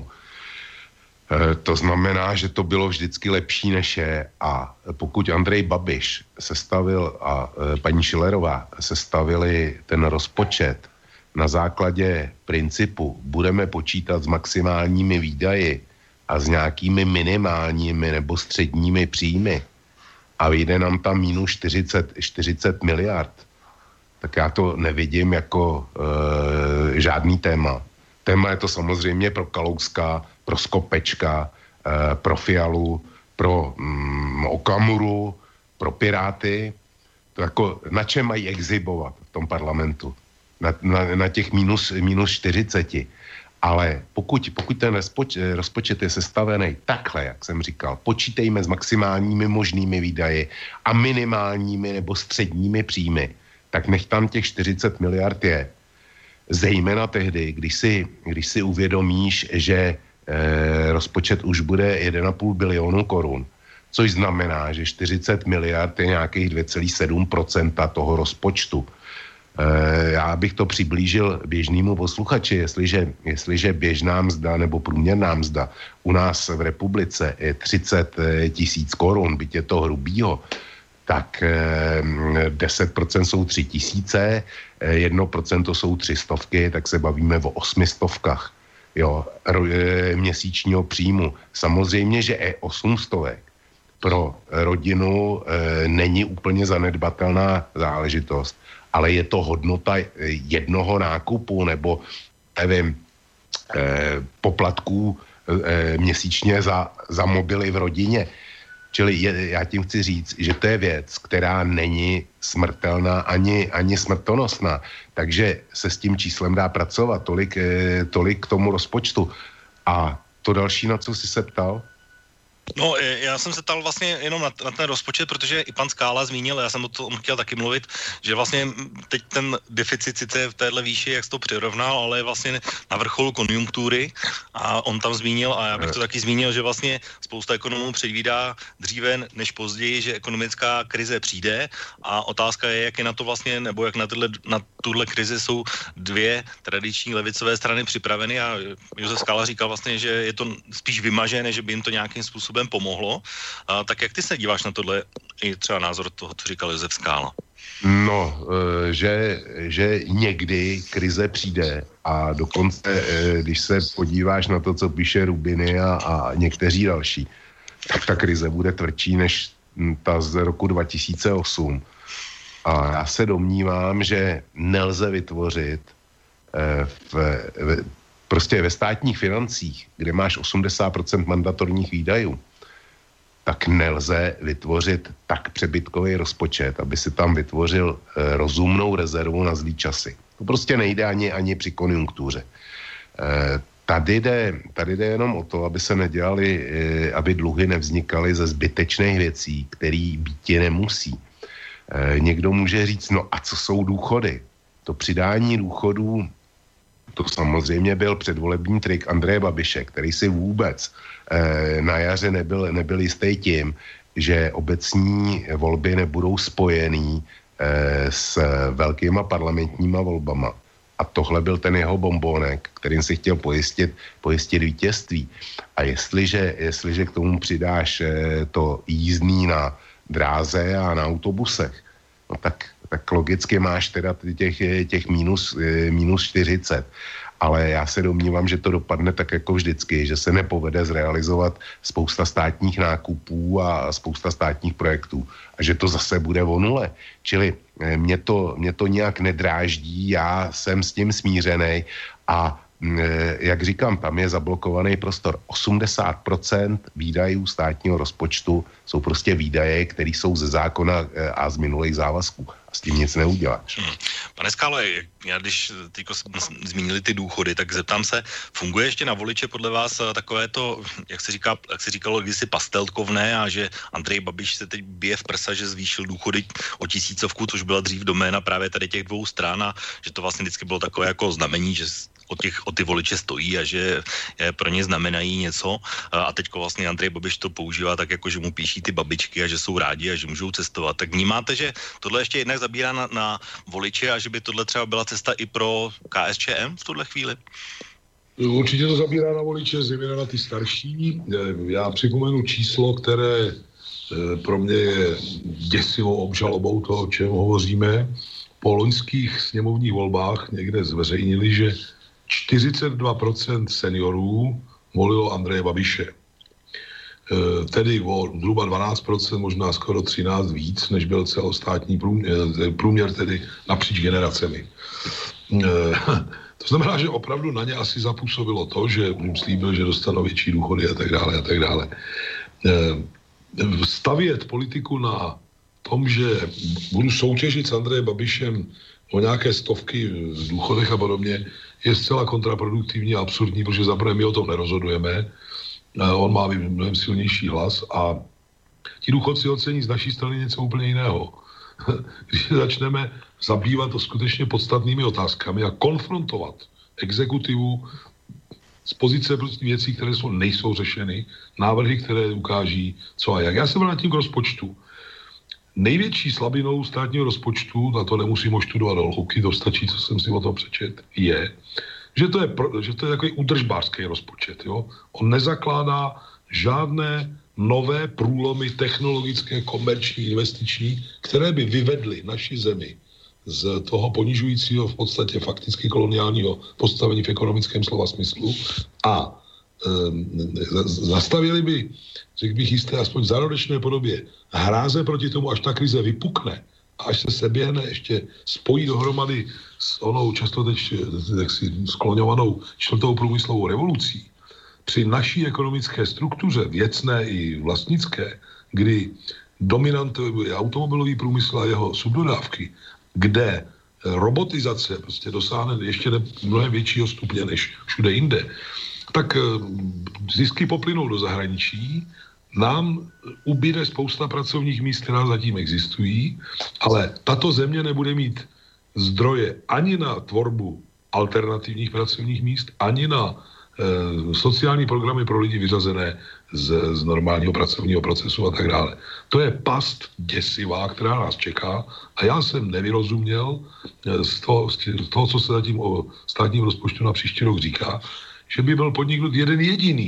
E, to znamená, že to bylo vždycky lepší než je, a pokud Andrej Babiš sestavil a e, paní Schillerová sestavili ten rozpočet na základě principu budeme počítat s maximálními výdaji a s nějakými minimálními nebo středními příjmy a vyjde nám tam minus čtyřicet, čtyřicet miliard, tak já to nevidím jako e, žádný téma. Téma je to samozřejmě pro Kalouska, pro Skopečka, e, pro Fialu, pro mm, Okamuru, pro Piráty. To jako, na čem mají exhibovat v tom parlamentu? Na, na, na těch minus, minus čtyřiceti. Ale pokud, pokud ten rozpočet, rozpočet je sestavený takhle, jak jsem říkal, počítejme s maximálními možnými výdaji a minimálními nebo středními příjmy, tak nech tam těch čtyřicet miliard je. Zejména tehdy, když si, když si uvědomíš, že e, rozpočet už bude jeden a půl bilionu korun, což znamená, že čtyřicet miliard je nějakých dvě celá sedm procenta toho rozpočtu. Já bych to přiblížil běžnému posluchači, jestliže, jestliže běžná mzda nebo průměrná mzda u nás v republice je třicet tisíc korun, byť je to hrubýho, tak deset procent jsou tři tisíce, jedno procento jsou tři stovky, tak se bavíme o osmi stovkách, jo, měsíčního příjmu. Samozřejmě, že je osm stovek pro rodinu e, není úplně zanedbatelná záležitost, ale je to hodnota jednoho nákupu nebo, nevím, eh, poplatků eh, měsíčně za, za mobily v rodině. Čili je, já tím chci říct, že to je věc, která není smrtelná ani, ani smrtonosná. Takže se s tím číslem dá pracovat. Tolik, eh, tolik k tomu rozpočtu. A to další, na co jsi se ptal? No, já jsem se ptal vlastně jenom na, na ten rozpočet, protože i pan Skála zmínil, já jsem o tom chtěl taky mluvit, že vlastně teď ten deficit sice v téhle výši, jak jsi to přirovnal, ale je vlastně na vrcholu konjunktury a on tam zmínil, a já bych to taky zmínil, že vlastně spousta ekonomů předvídá dříve než později, že ekonomická krize přijde, a otázka je, jak je na to vlastně, nebo jak na, tyhle, na tuhle krizi jsou dvě tradiční levicové strany připraveny, a Josef Skála říkal vlastně, že je to spíš vymažené, že by jim to nějakým způsobem pomohlo. A, tak jak ty se díváš na tohle? i třeba názor toho, co říkal Josef Skála. No, že, že někdy krize přijde a dokonce, když se podíváš na to, co píše Rubiny a, a někteří další, tak ta krize bude tvrdší než ta z roku dva tisíce osm. A já se domnívám, že nelze vytvořit v, v, prostě ve státních financích, kde máš osmdesát procent mandatorních výdajů, tak nelze vytvořit tak přebytkový rozpočet, aby si tam vytvořil e, rozumnou rezervu na zlý časy. To prostě nejde ani, ani při konjunktuře. E, tady, jde, tady jde jenom o to, aby se nedělali, e, aby dluhy nevznikaly ze zbytečných věcí, který býti nemusí. E, někdo může říct, no a co jsou důchody? To přidání důchodů, to samozřejmě byl předvolební trik Andreje Babiše, který si vůbec eh, na jaře nebyl, nebyl jistý tím, že obecní volby nebudou spojený eh, s velkýma parlamentníma volbama. A tohle byl ten jeho bombónek, kterým si chtěl pojistit, pojistit vítězství. A jestliže, jestliže k tomu přidáš eh, to jízdný na dráze a na autobusech, no tak tak logicky máš teda těch, těch minus, minus čtyřicet. Ale já se domnívám, že to dopadne tak jako vždycky, že se nepovede zrealizovat spousta státních nákupů a spousta státních projektů. A že to zase bude o nule. Čili mě to, mě to nějak nedráždí, já jsem s tím smířený a jak říkám, tam je zablokovaný prostor. osmdesát procent výdajů státního rozpočtu jsou prostě výdaje, které jsou ze zákona a z minulých závazků. A s tím nic neuděláš. Hmm. Pane Skálo, já když teďko zmínili ty důchody, tak zeptám se, funguje ještě na voliče podle vás takové to, jak se, říká, jak se říkalo kdysi pastelkovné a že Andrej Babiš se teď bije v prsa, že zvýšil důchody o tisícovku, což byla dřív doména právě tady těch dvou stran a že to vlastně vždycky bylo takové jako znamení, že o, těch, o ty voliče stojí a že je, pro ně znamenají něco a teďko vlastně Andrej Babiš to používá tak jako, že mu píší ty babičky a že jsou rádi a že můžou cestovat. Tak vnímáte, že tohle ještě jednak zabírá na, na voliče a že by tohle třeba byla cesta i pro K S Č M v tuhle chvíli? Určitě to zabírá na voliče, zejména na ty starší. Já připomenu číslo, které pro mě je děsivou obžalobou toho, o čem hovoříme. Po loňských sněmovních volbách někde zveřejnili, že čtyřicet dva procent seniorů volilo Andreje Babiše. E, tedy o zhruba dvanáct procent, možná skoro třináct víc, než byl celostátní průměr, průměr tedy napříč generacemi. E, to znamená, že opravdu na ně asi zapůsobilo to, že jim slíbil, že dostanou větší důchody a tak dále a tak dále. E, stavět politiku na tom, že budu soutěžit s Andrejem Babišem o nějaké stovky v důchodech a podobně, je zcela kontraproduktivní a absurdní, protože zaprvé my o tom nerozhodujeme, on má mnohem silnější hlas a ti důchodci ocení z naší strany něco úplně jiného. Když začneme zabývat to skutečně podstatnými otázkami a konfrontovat exekutivu z pozice prostě věcí, které jsou, nejsou řešeny, návrhy, které ukáží co a jak. Já jsem byl nad tím k rozpočtu. Největší slabinou státního rozpočtu, na to nemusím oštudovat do hloubky, to stačí, co jsem si o tom přečet, je, že to je, že to je takový udržbářský rozpočet. Jo? On nezakládá žádné nové průlomy technologické, komerční, investiční, které by vyvedly naši zemi z toho ponižujícího, v podstatě fakticky koloniálního postavení v ekonomickém slova smyslu a e, zastavili by, řekl bych jisté, aspoň v zárodečné podobě, hráze proti tomu, až ta krize vypukne a až se seběhne, ještě spojí dohromady s onou často teď skloňovanou čtvrtou průmyslovou revolucí, při naší ekonomické struktuře, věcné i vlastnické, kdy dominant je automobilový průmysl a jeho subdodávky, kde robotizace prostě dosáhne ještě mnohem většího stupně než všude jinde, tak zisky poplynou do zahraničí, nám ubyde spousta pracovních míst, která zatím existují, ale tato země nebude mít zdroje ani na tvorbu alternativních pracovních míst, ani na e, sociální programy pro lidi vyřazené z, z normálního pracovního procesu a tak dále. To je past děsivá, která nás čeká a já jsem nevyrozuměl z toho, z toho, co se zatím o státním rozpočtu na příští rok říká, že by byl podniknut jeden jediný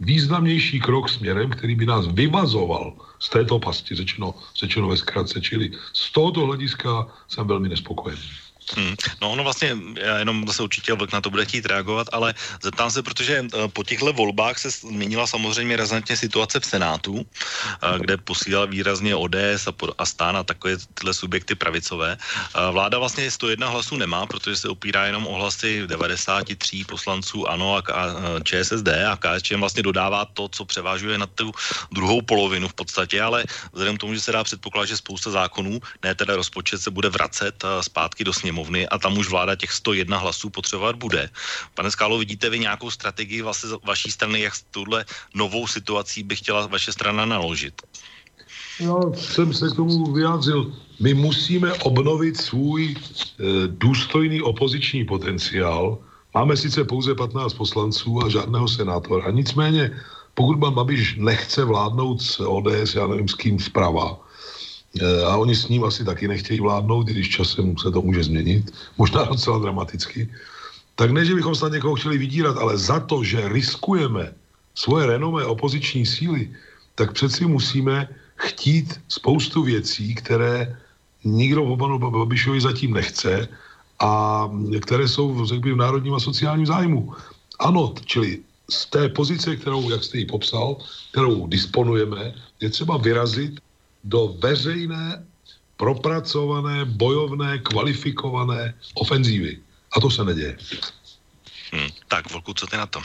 významnější krok směrem, který by nás vyvazoval z této pasti, řečeno, řečeno ve zkratce, čili z tohoto hlediska jsem velmi nespokojený. Hmm. No ono vlastně, já jenom zase určitě Vlk na to bude chtít reagovat, ale zeptám se, protože po těchto volbách se změnila samozřejmě razantně situace v Senátu, kde posílala výrazně O D S a, a STAN a takové tyhle subjekty pravicové. Vláda vlastně sto jedna hlasů nemá, protože se opírá jenom o hlasy devadesát tři poslanců ANO a ČSSD a K S Č M vlastně dodává to, co převážuje na tu druhou polovinu v podstatě, ale vzhledem k tomu, že se dá předpokládat, že spousta zákonů, ne teda rozpočet, se bude vracet zpátky do sněmovny a tam už vláda těch sto jedna hlasů potřebovat bude. Pane Skálo, vidíte vy nějakou strategii vlastně z vaší strany, jak s touhle novou situací by chtěla vaše strana naložit? Já jsem se k tomu vyjádřil. My musíme obnovit svůj e, důstojný opoziční potenciál. Máme sice pouze patnáct poslanců a žádného senátora. A nicméně, pokud pan Babiš nechce vládnout s O D S, já nevím s kým zprava, a oni s ním asi taky nechtějí vládnout, když časem se to může změnit, možná docela dramaticky, tak ne, že bychom snad někoho chtěli vydírat, ale za to, že riskujeme svoje renomé opoziční síly, tak přeci musíme chtít spoustu věcí, které nikdo po panu Babišovi zatím nechce a které jsou, řekl bych, v národním a sociálním zájmu. Ano, čili z té pozice, kterou, jak jste ji popsal, kterou disponujeme, je třeba vyrazit do veřejné, propracované, bojovné, kvalifikované ofenzívy. A to se neděje. Hmm, tak, Vlku, co ty na to?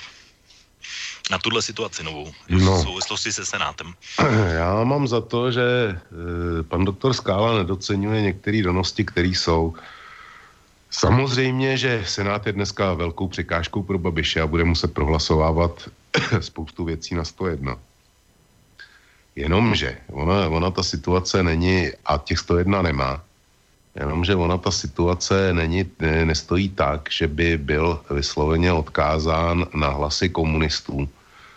Na tuhle situaci novou, no. V souvislosti se Senátem. Já mám za to, že e, pan doktor Skála nedoceňuje některé donosti, které jsou. Samozřejmě, že Senát je dneska velkou překážkou pro Babiše a bude muset prohlasovávat spoustu věcí na sto jedna. Jenomže ona, ona ta situace není, a těch sto jedna nemá, jenomže ona ta situace není, ne, nestojí tak, že by byl vysloveně odkázán na hlasy komunistů.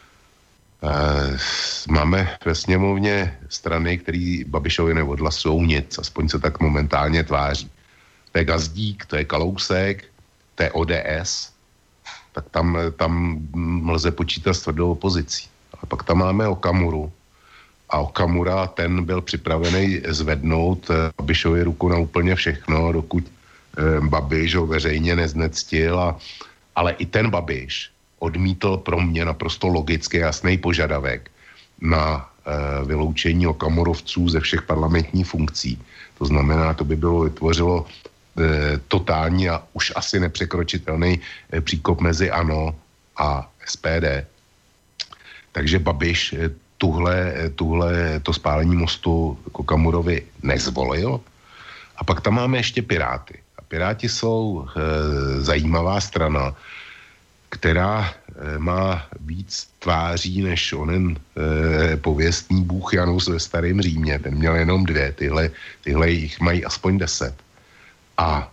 E, máme ve sněmovně strany, které Babišovi neodhlasují nic, aspoň se tak momentálně tváří. To je Gazdík, to je Kalousek, to je O D S, tak tam, tam lze počítat s tvrdou opozicí. A pak tam máme Okamuru, a Okamura, ten byl připravený zvednout Babišovi ruku na úplně všechno, dokud eh, Babiš ho veřejně neznectil. A, ale i ten Babiš odmítl pro mě naprosto logicky jasný požadavek na eh, vyloučení Okamurovců ze všech parlamentních funkcí. To znamená, to by bylo vytvořilo eh, totální a už asi nepřekročitelný eh, příkop mezi ANO a S P D. Takže Babiš eh, Tuhle, tuhle, to spálení mostu Okamurovi nezvolil. A pak tam máme ještě Piráty. A Piráti jsou e, zajímavá strana, která e, má víc tváří než onen e, pověstný bůh Janus ve Starém Římě. Ten měl jenom dvě, tyhle, tyhle jich mají aspoň deset. A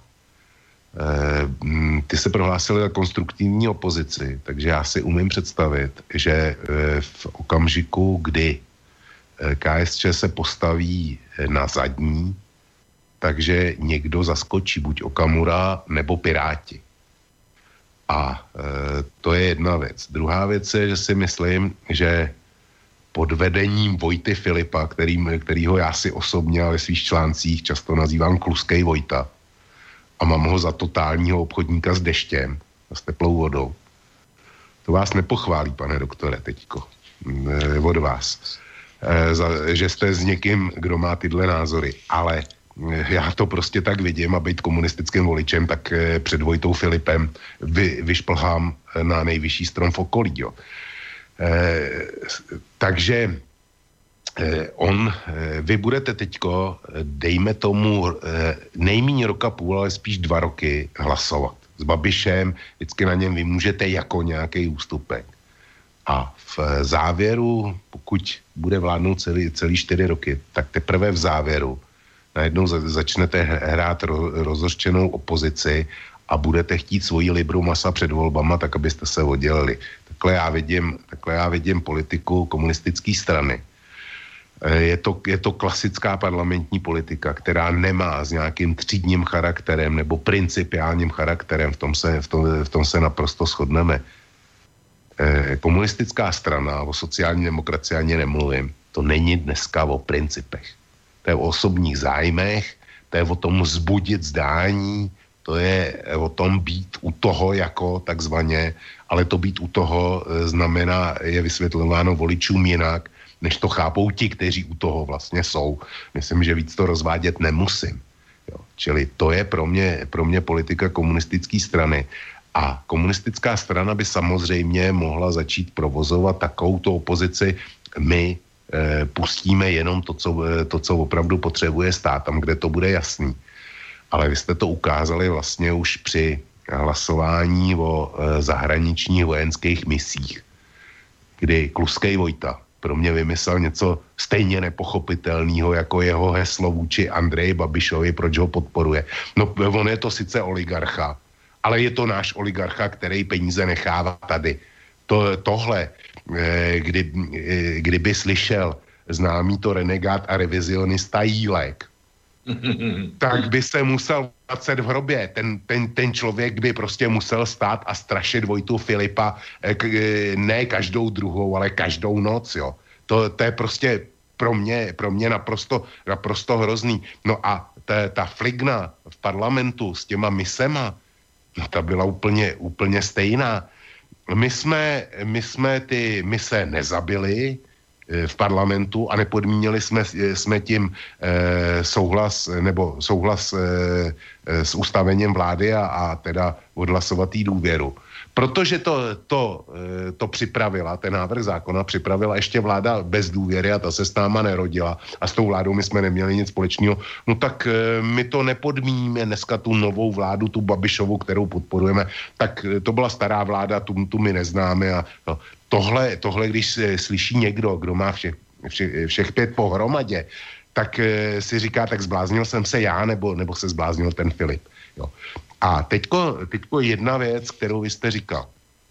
ty se prohlásili za konstruktivní opozici, takže já si umím představit, že v okamžiku, kdy K S Č se postaví na zadní, takže někdo zaskočí, buď Okamura nebo Piráti. A to je jedna věc. Druhá věc je, že si myslím, že pod vedením Vojty Filipa, který, kterýho já si osobně a ve svých článcích často nazývám Kluskej Vojta, a mám ho za totálního obchodníka s deštěm a s teplou vodou. To vás nepochválí, pane doktore, teďko, e, od vás, e, za, že jste s někým, kdo má tyhle názory, ale e, já to prostě tak vidím a být komunistickým voličem, tak e, před Vojtou Filipem vy, vyšplhám na nejvyšší strom v okolí, jo. E, takže On, vy budete teďko, dejme tomu, nejméně roka půl, ale spíš dva roky hlasovat. S Babišem vždycky na něm vy můžete jako nějaký ústupek. A v závěru, pokud bude vládnout celý, celý čtyři roky, tak teprve v závěru najednou začnete hrát rozhořčenou opozici a budete chtít svoji libru masa před volbama, tak abyste se oddělili. Takhle já vidím, takhle já vidím politiku komunistické strany. Je to, je to klasická parlamentní politika, která nemá s nějakým třídním charakterem nebo principiálním charakterem, v tom se, v tom, v tom se naprosto shodneme. komunistická strana, o sociální demokracii ani nemluvím, to není dneska o principech. To je o osobních zájmech, to je o tom vzbudit zdání, to je o tom být u toho jako takzvaně, ale to být u toho znamená, je vysvětlováno voličům jinak, než to chápou ti, kteří u toho vlastně jsou. Myslím, že víc to rozvádět nemusím. Jo. Čili to je pro mě, pro mě politika komunistické strany. A komunistická strana by samozřejmě mohla začít provozovat takovouto opozici. My e, pustíme jenom to co, to, co opravdu potřebuje stát, tam, kde to bude jasný. Ale vy jste to ukázali vlastně už při hlasování o e, zahraničních vojenských misích, kdy Kluskej Vojta pro mě vymyslel něco stejně nepochopitelného jako jeho heslo vůči Andreji Babišovi, proč ho podporuje. No on je to sice oligarcha, ale je to náš oligarcha, který peníze nechává tady. To, tohle, kdy, kdyby slyšel známý to renegát a revizionista Jílek, tak by se musel vracet v hrobě. Ten, ten, ten člověk by prostě musel stát a strašit Vojtu Filipa ne každou druhou, ale každou noc, jo. To, to je prostě pro mě, pro mě naprosto, naprosto hrozný. No a ta, ta fligna v parlamentu s těma misema, no ta byla úplně, úplně stejná. My jsme, my jsme ty mise nezabili v parlamentu a nepodmínili jsme, jsme tím e, souhlas nebo souhlas e, s ustavením vlády a, a teda odhlasovat jí důvěru. Protože to, to, e, to připravila, ten návrh zákona připravila ještě vláda bez důvěry a ta se s náma nerodila a s tou vládou my jsme neměli nic společného, no tak e, my to nepodmíníme dneska tu novou vládu, tu Babišovu, kterou podporujeme, tak to byla stará vláda, tu, tu my neznáme a no, Tohle, tohle, když se slyší někdo, kdo má všech, všech, všech pět pohromadě, tak e, si říká, tak zbláznil jsem se já, nebo, nebo se zbláznil ten Filip. Jo. A teďko, teďko jedna věc, kterou vy jste říkal,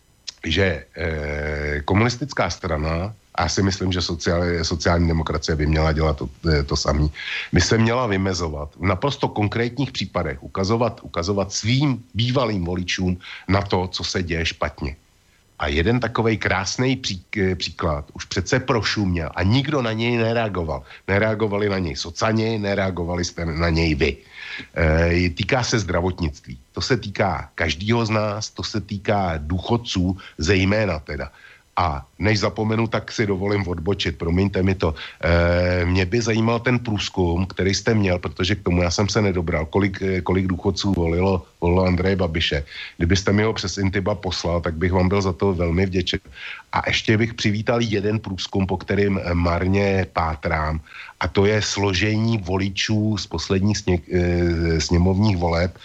že e, komunistická strana, a já si myslím, že sociální, sociální demokracie by měla dělat to, to samé, by se měla vymezovat v naprosto konkrétních případech, ukazovat, ukazovat svým bývalým voličům na to, co se děje špatně. A jeden takovej krásný pří, příklad už přece prošuměl a nikdo na něj nereagoval. Nereagovali na něj socani, nereagovali jste na něj vy. E, týká se zdravotnictví. To se týká každého z nás, to se týká důchodců, zejména teda. A než zapomenu, tak si dovolím odbočit, promiňte mi to. E, mě by zajímal ten průzkum, který jste měl, protože k tomu já jsem se nedobral, kolik, kolik důchodců volilo, volilo Andreje Babiše. Kdybyste mi ho přes Intiba poslal, tak bych vám byl za to velmi vděčen. A ještě bych přivítal jeden průzkum, po kterým marně pátrám, a to je složení voličů z posledních sně, e, sněmovních voleb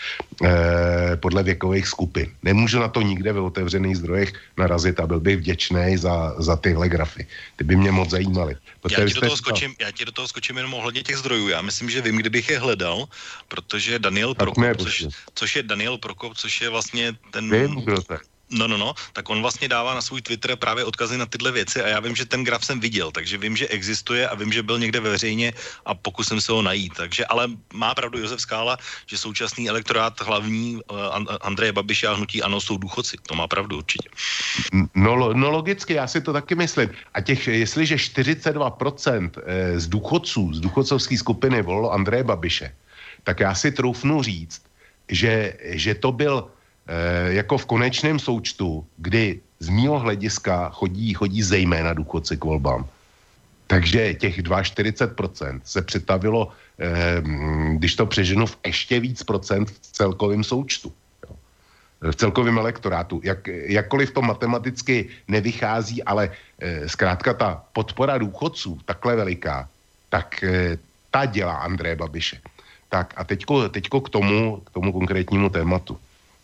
e, podle věkových skupin. Nemůžu na to nikde ve otevřených zdrojech narazit a byl bych vděčný za, za tyhle grafy. Ty by mě moc zajímaly. Já ti, do toho skočím, já ti do toho skočím jenom ohledně těch zdrojů. Já myslím, že vím, kdybych je hledal, protože Daniel Prokop, což, což je Daniel Prokop, což je vlastně ten... Vím, kdo to je. No, no, no, tak on vlastně dává na svůj Twitter právě odkazy na tyhle věci a já vím, že ten graf jsem viděl, takže vím, že existuje a vím, že byl někde veřejně a pokusím se ho najít. Takže, ale má pravdu Josef Skála, že současný elektorát hlavní uh, Andreje Babiše a hnutí ANO jsou důchodci. To má pravdu určitě. No, no logicky, já si to taky myslím. A těch, jestliže čtyřicet dva procent z důchodců, z důchodcovské skupiny volilo Andreje Babiše, tak já si troufnu říct, že, že to byl jako v konečném součtu, kdy z mýho hlediska chodí, chodí zejména důchodci k volbám. Takže těch čtyřicet dva procent se přetavilo, eh, když to přeženu, v ještě víc procent v celkovém součtu. Jo. V celkovém elektorátu. Jak, jakkoliv to matematicky nevychází, ale eh, zkrátka ta podpora důchodců takhle veliká, tak eh, ta dělá Andreje Babiše. Tak a teďko, teďko k tomu, k tomu konkrétnímu tématu.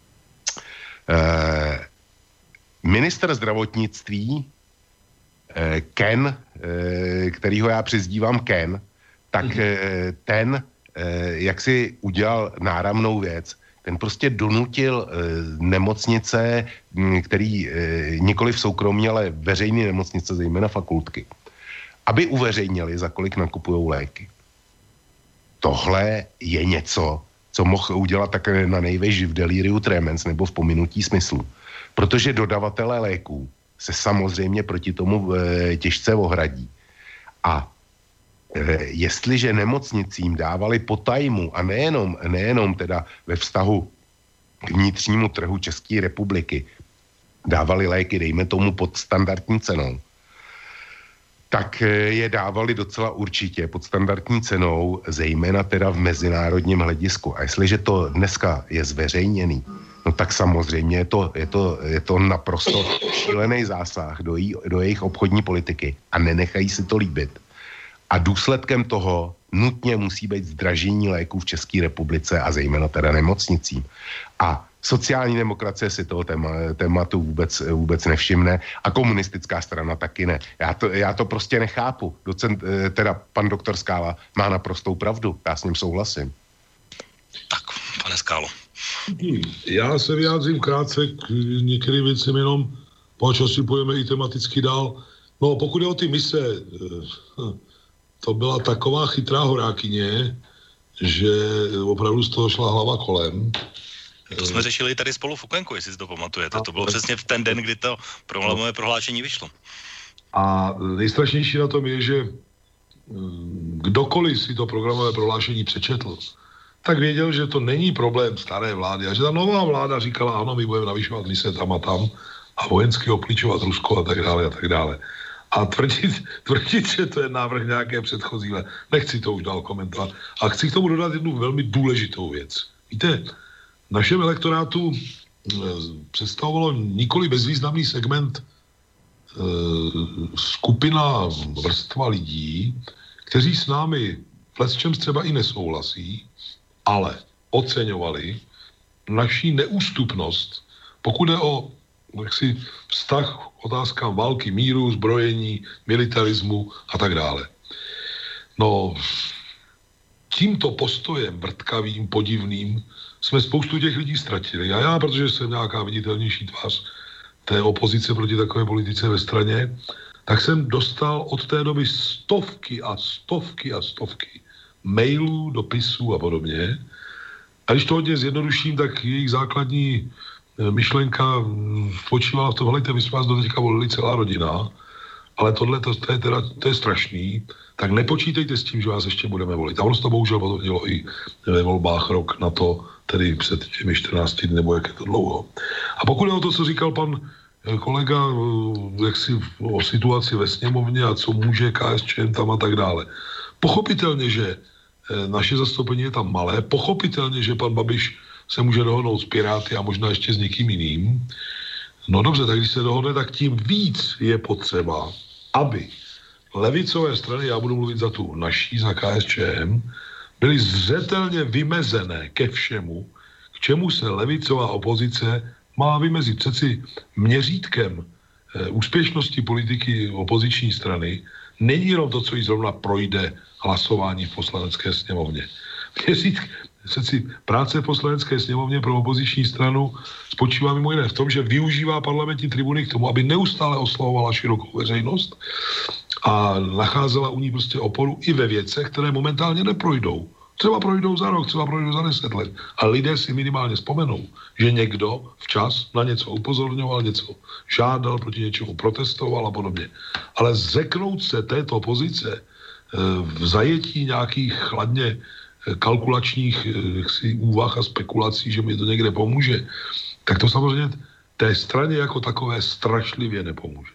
Eh, ministr zdravotnictví eh, Ken, eh, kterýho já přizdívám Ken, tak eh, ten, eh, jak si udělal náramnou věc, ten prostě donutil eh, nemocnice, který eh, nikoli v soukromí, ale veřejné nemocnice, zejména fakultky, aby uveřejnili, za kolik nakupujou léky. Tohle je něco, co mohl udělat také na nejvejš v deliriu tremens nebo v pominutí smyslu. Protože dodavatelé léků se samozřejmě proti tomu e, těžce ohradí. A e, jestliže nemocnicím dávali po tajmu a nejenom, nejenom teda ve vztahu k vnitřnímu trhu České republiky, dávali léky, dejme tomu, pod standardní cenou, tak je dávali docela určitě pod standardní cenou, zejména teda v mezinárodním hledisku. A jestliže to dneska je zveřejněný, no tak samozřejmě je to, je to, je to naprosto šílený zásah do, jí, do jejich obchodní politiky a nenechají si to líbit. A důsledkem toho nutně musí být zdražení léků v České republice a zejména teda nemocnicím. A sociální demokracie si toho téma, tématu vůbec, vůbec nevšimne a komunistická strana taky ne. Já to, já to prostě nechápu. Docent, teda pan doktor Skála má naprostou pravdu. Já s ním souhlasím. Tak, pane Skálo. Já se vyjádřím krátce k některým věcem jenom, po si pojeme i tematicky dál. No, pokud je o ty mise, to byla taková chytrá horákyně, že opravdu z toho šla hlava kolem. To jsme řešili tady spolu v Okénku, jestli si to pamatujete. To bylo přesně v ten den, kdy to programové prohlášení vyšlo. A nejstrašnější na tom je, že kdokoliv si to programové prohlášení přečetl, tak věděl, že to není problém staré vlády a že ta nová vláda říkala, ano, my budeme navyšovat mise tam a tam a vojensky oklíčovat Rusko a tak dále a tak dále. A tvrdit, tvrdit, že to je návrh nějaké předchozí, nechci to už dál komentovat. A chci k tomu dodat jednu velmi důležitou věc. Víte, v našem elektorátu představovalo nikoli bezvýznamný segment e, skupina vrstva lidí, kteří s námi v lecčem třeba i nesouhlasí, ale oceňovali naší neústupnost, pokud je o jaksi, vztah otázkám války, míru, zbrojení, militarismu a tak dále. No, tímto postojem vrtkavým, podivným jsme spoustu těch lidí ztratili. A já, protože jsem nějaká viditelnější tvář té opozice proti takové politice ve straně, tak jsem dostal od té doby stovky a stovky a stovky mailů, dopisů a podobně. A když to hodně zjednoduším, tak jejich základní myšlenka spočívala v tom, hledajte, my jsme vás do teďka volili celá rodina, ale tohle, to, to, je teda, to je strašný, tak nepočítejte s tím, že vás ještě budeme volit. A ono to bohužel potom dělo i ve volbách rok na to, tedy před těmi čtrnácti dny, nebo jak je to dlouho. A pokud je o to, co říkal pan kolega, jak si o situaci ve sněmovně a co může K S Č M tam a tak dále. Pochopitelně, že naše zastoupení je tam malé, pochopitelně, že pan Babiš se může dohodnout s Piráty a možná ještě s někým jiným. No dobře, tak když se dohodne, tak tím víc je potřeba, aby levicové strany, já budu mluvit za tu naší, za K S Č M, byly zřetelně vymezené ke všemu, k čemu se levicová opozice má vymezit. Přeci měřítkem e, úspěšnosti politiky opoziční strany není jenom to, co jí zrovna projde hlasování v poslanecké sněmovně. Měřítk, přeci práce v poslanecké sněmovně pro opoziční stranu spočívá mimo jiné v tom, že využívá parlamentní tribuny k tomu, aby neustále oslovovala širokou veřejnost a nacházela u ní prostě oporu i ve věcech, které momentálně neprojdou. Třeba projdou za rok, třeba projdou za deset let. A lidé si minimálně vzpomenou, že někdo včas na něco upozorňoval, něco žádal, proti něčemu protestoval a podobně. Ale zřeknout se této pozice v zajetí nějakých chladně kalkulačních jaksi, úvah a spekulací, že mi to někde pomůže, tak to samozřejmě té straně jako takové strašlivě nepomůže.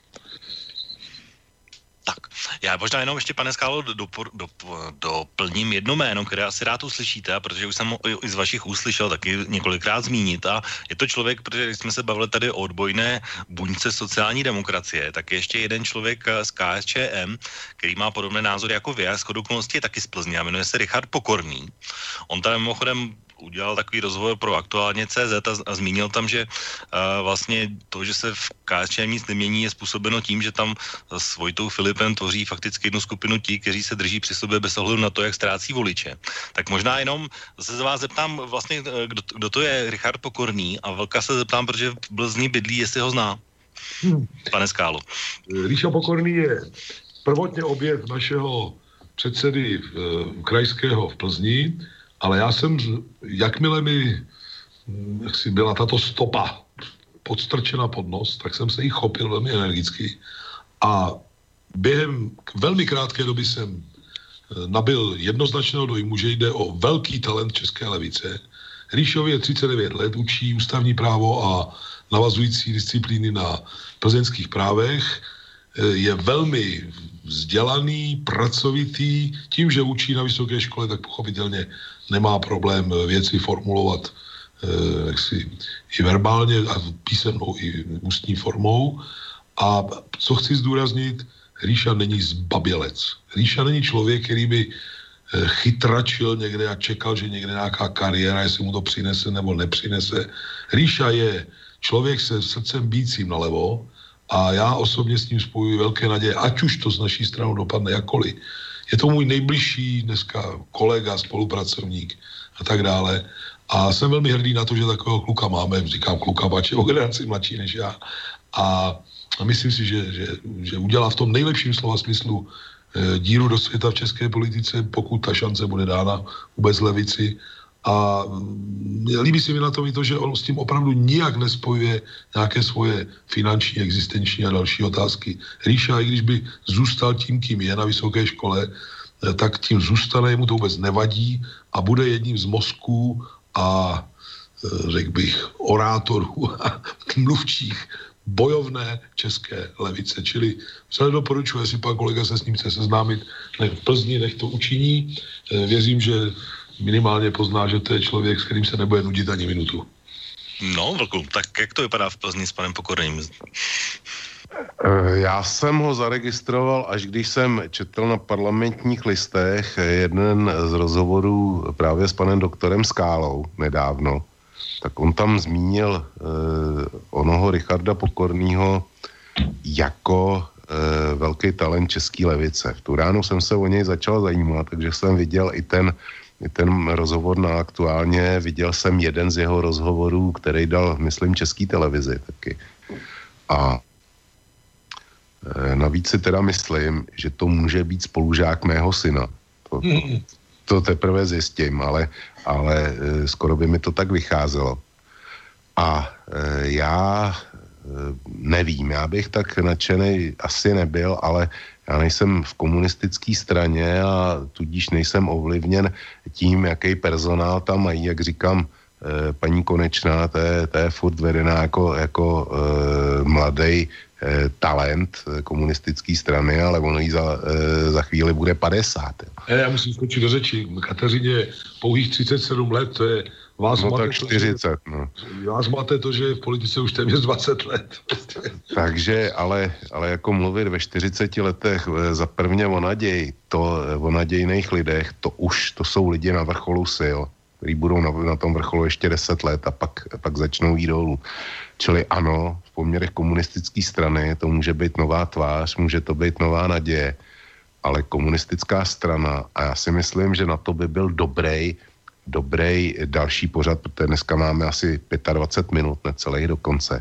Tak, já možná jenom ještě, pane Skálo, doplním jedno jméno, které asi rád uslyšíte, protože už jsem ho i z vašich uslyšel taky několikrát zmínit a je to člověk, protože když jsme se bavili tady o odbojné buňce sociální demokracie, tak je ještě jeden člověk z K S Č M, který má podobné názory jako vy a shodou okolností je taky z Plzně a jmenuje se Richard Pokorný. On tady mimochodem udělal takový rozhovor pro Aktuálně C Z a, a zmínil tam, že uh, vlastně to, že se v K S Č M nic nemění, je způsobeno tím, že tam s Vojtou Filipem tvoří fakticky jednu skupinu tí, kteří se drží při sobě bez ohledu na to, jak ztrácí voliče. Tak možná jenom se vás zeptám vlastně, kdo, kdo to je Richard Pokorný a Vlka se zeptám, protože v Plzni bydlí, jestli ho zná. Hmm. Pane Skálo. Richard Pokorný je prvotně objev našeho předsedy uh, krajského v Plzni, ale já jsem, jakmile mi jaksi byla tato stopa podstrčena pod nos, tak jsem se jí chopil velmi energicky a během velmi krátké doby jsem nabyl jednoznačného dojmu, že jde o velký talent české levice. Ríšovi je třicet devět let, učí ústavní právo a navazující disciplíny na plzeňských právech, je velmi vzdělaný, pracovitý, tím, že učí na vysoké škole, tak pochopitelně nemá problém věci formulovat eh, jaksi, i verbálně a písemnou, i ústní formou. A co chci zdůraznit, Ríša není zbabělec. Ríša není člověk, který by chytračil někde a čekal, že někde nějaká kariéra, jestli mu to přinese nebo nepřinese. Ríša je člověk se srdcem bícím nalevo a já osobně s ním spojuji velké naděje, ať už to z naší strany dopadne jakkoliv. Je to můj nejbližší dneska kolega, spolupracovník a tak dále. A jsem velmi hrdý na to, že takového kluka máme, říkám kluka, pač je o generaci mladší než já. A A myslím si, že, že, že udělá v tom nejlepším slova smyslu e, díru do světa v české politice, pokud ta šance bude dána vůbec levici. A e, líbí se mi na tom i to, že on s tím opravdu nijak nespojuje nějaké svoje finanční, existenční a další otázky. Ríša, i když by zůstal tím, kým je na vysoké škole, e, tak tím zůstane, mu to vůbec nevadí a bude jedním z mozků a e, řekl bych orátorů a mluvčích bojovné české levice. Čili vřele doporučuji, jestli pan kolega se s ním chce seznámit, nech v Plzni, nech to učiní. Věřím, že minimálně pozná, že to je člověk, s kterým se nebude nudit ani minutu. No, Vlku, tak jak to vypadá v Plzni s panem Pokorným? Já jsem ho zaregistroval, až když jsem četl na Parlamentních listech jeden z rozhovorů právě s panem doktorem Skálou nedávno. Tak on tam zmínil eh, onoho Richarda Pokornýho jako eh, velký talent české levice. V tu ránu jsem se o něj začal zajímat, takže jsem viděl i ten, i ten rozhovor na Aktuálně. Viděl jsem jeden z jeho rozhovorů, který dal, myslím, České televizi taky. A eh, navíc si teda myslím, že to může být spolužák mého syna. To, to, to teprve zjistím, ale ale e, skoro by mi to tak vycházelo. A e, já e, nevím, já bych tak nadšenej asi nebyl, ale já nejsem v komunistické straně a tudíž nejsem ovlivněn tím, jaký personál tam mají, jak říkám, e, paní Konečná, to je, to je furt vedená jako, jako e, mladý e, talent komunistické strany, ale ono jí za, e, za chvíli bude padesát. Jo. Já musím skočit do řeči. Kateřině pouhých třicet sedm let, to je vás no máte tak čtyřicet, to, no. Vás máte to, že je v politice už téměř dvacet let. Takže, ale, ale jako mluvit ve čtyřiceti letech za prvně o naději, to o nadějných lidech, to už, to jsou lidi na vrcholu sil, kteří budou na, na tom vrcholu ještě deset let a pak, pak začnou jít dolů. Čili ano, v poměrech komunistické strany to může být nová tvář, může to být nová naděje, ale komunistická strana, a já si myslím, že na to by byl dobrý, dobrý další pořad, protože dneska máme asi dvacet pět minut, necelých dokonce.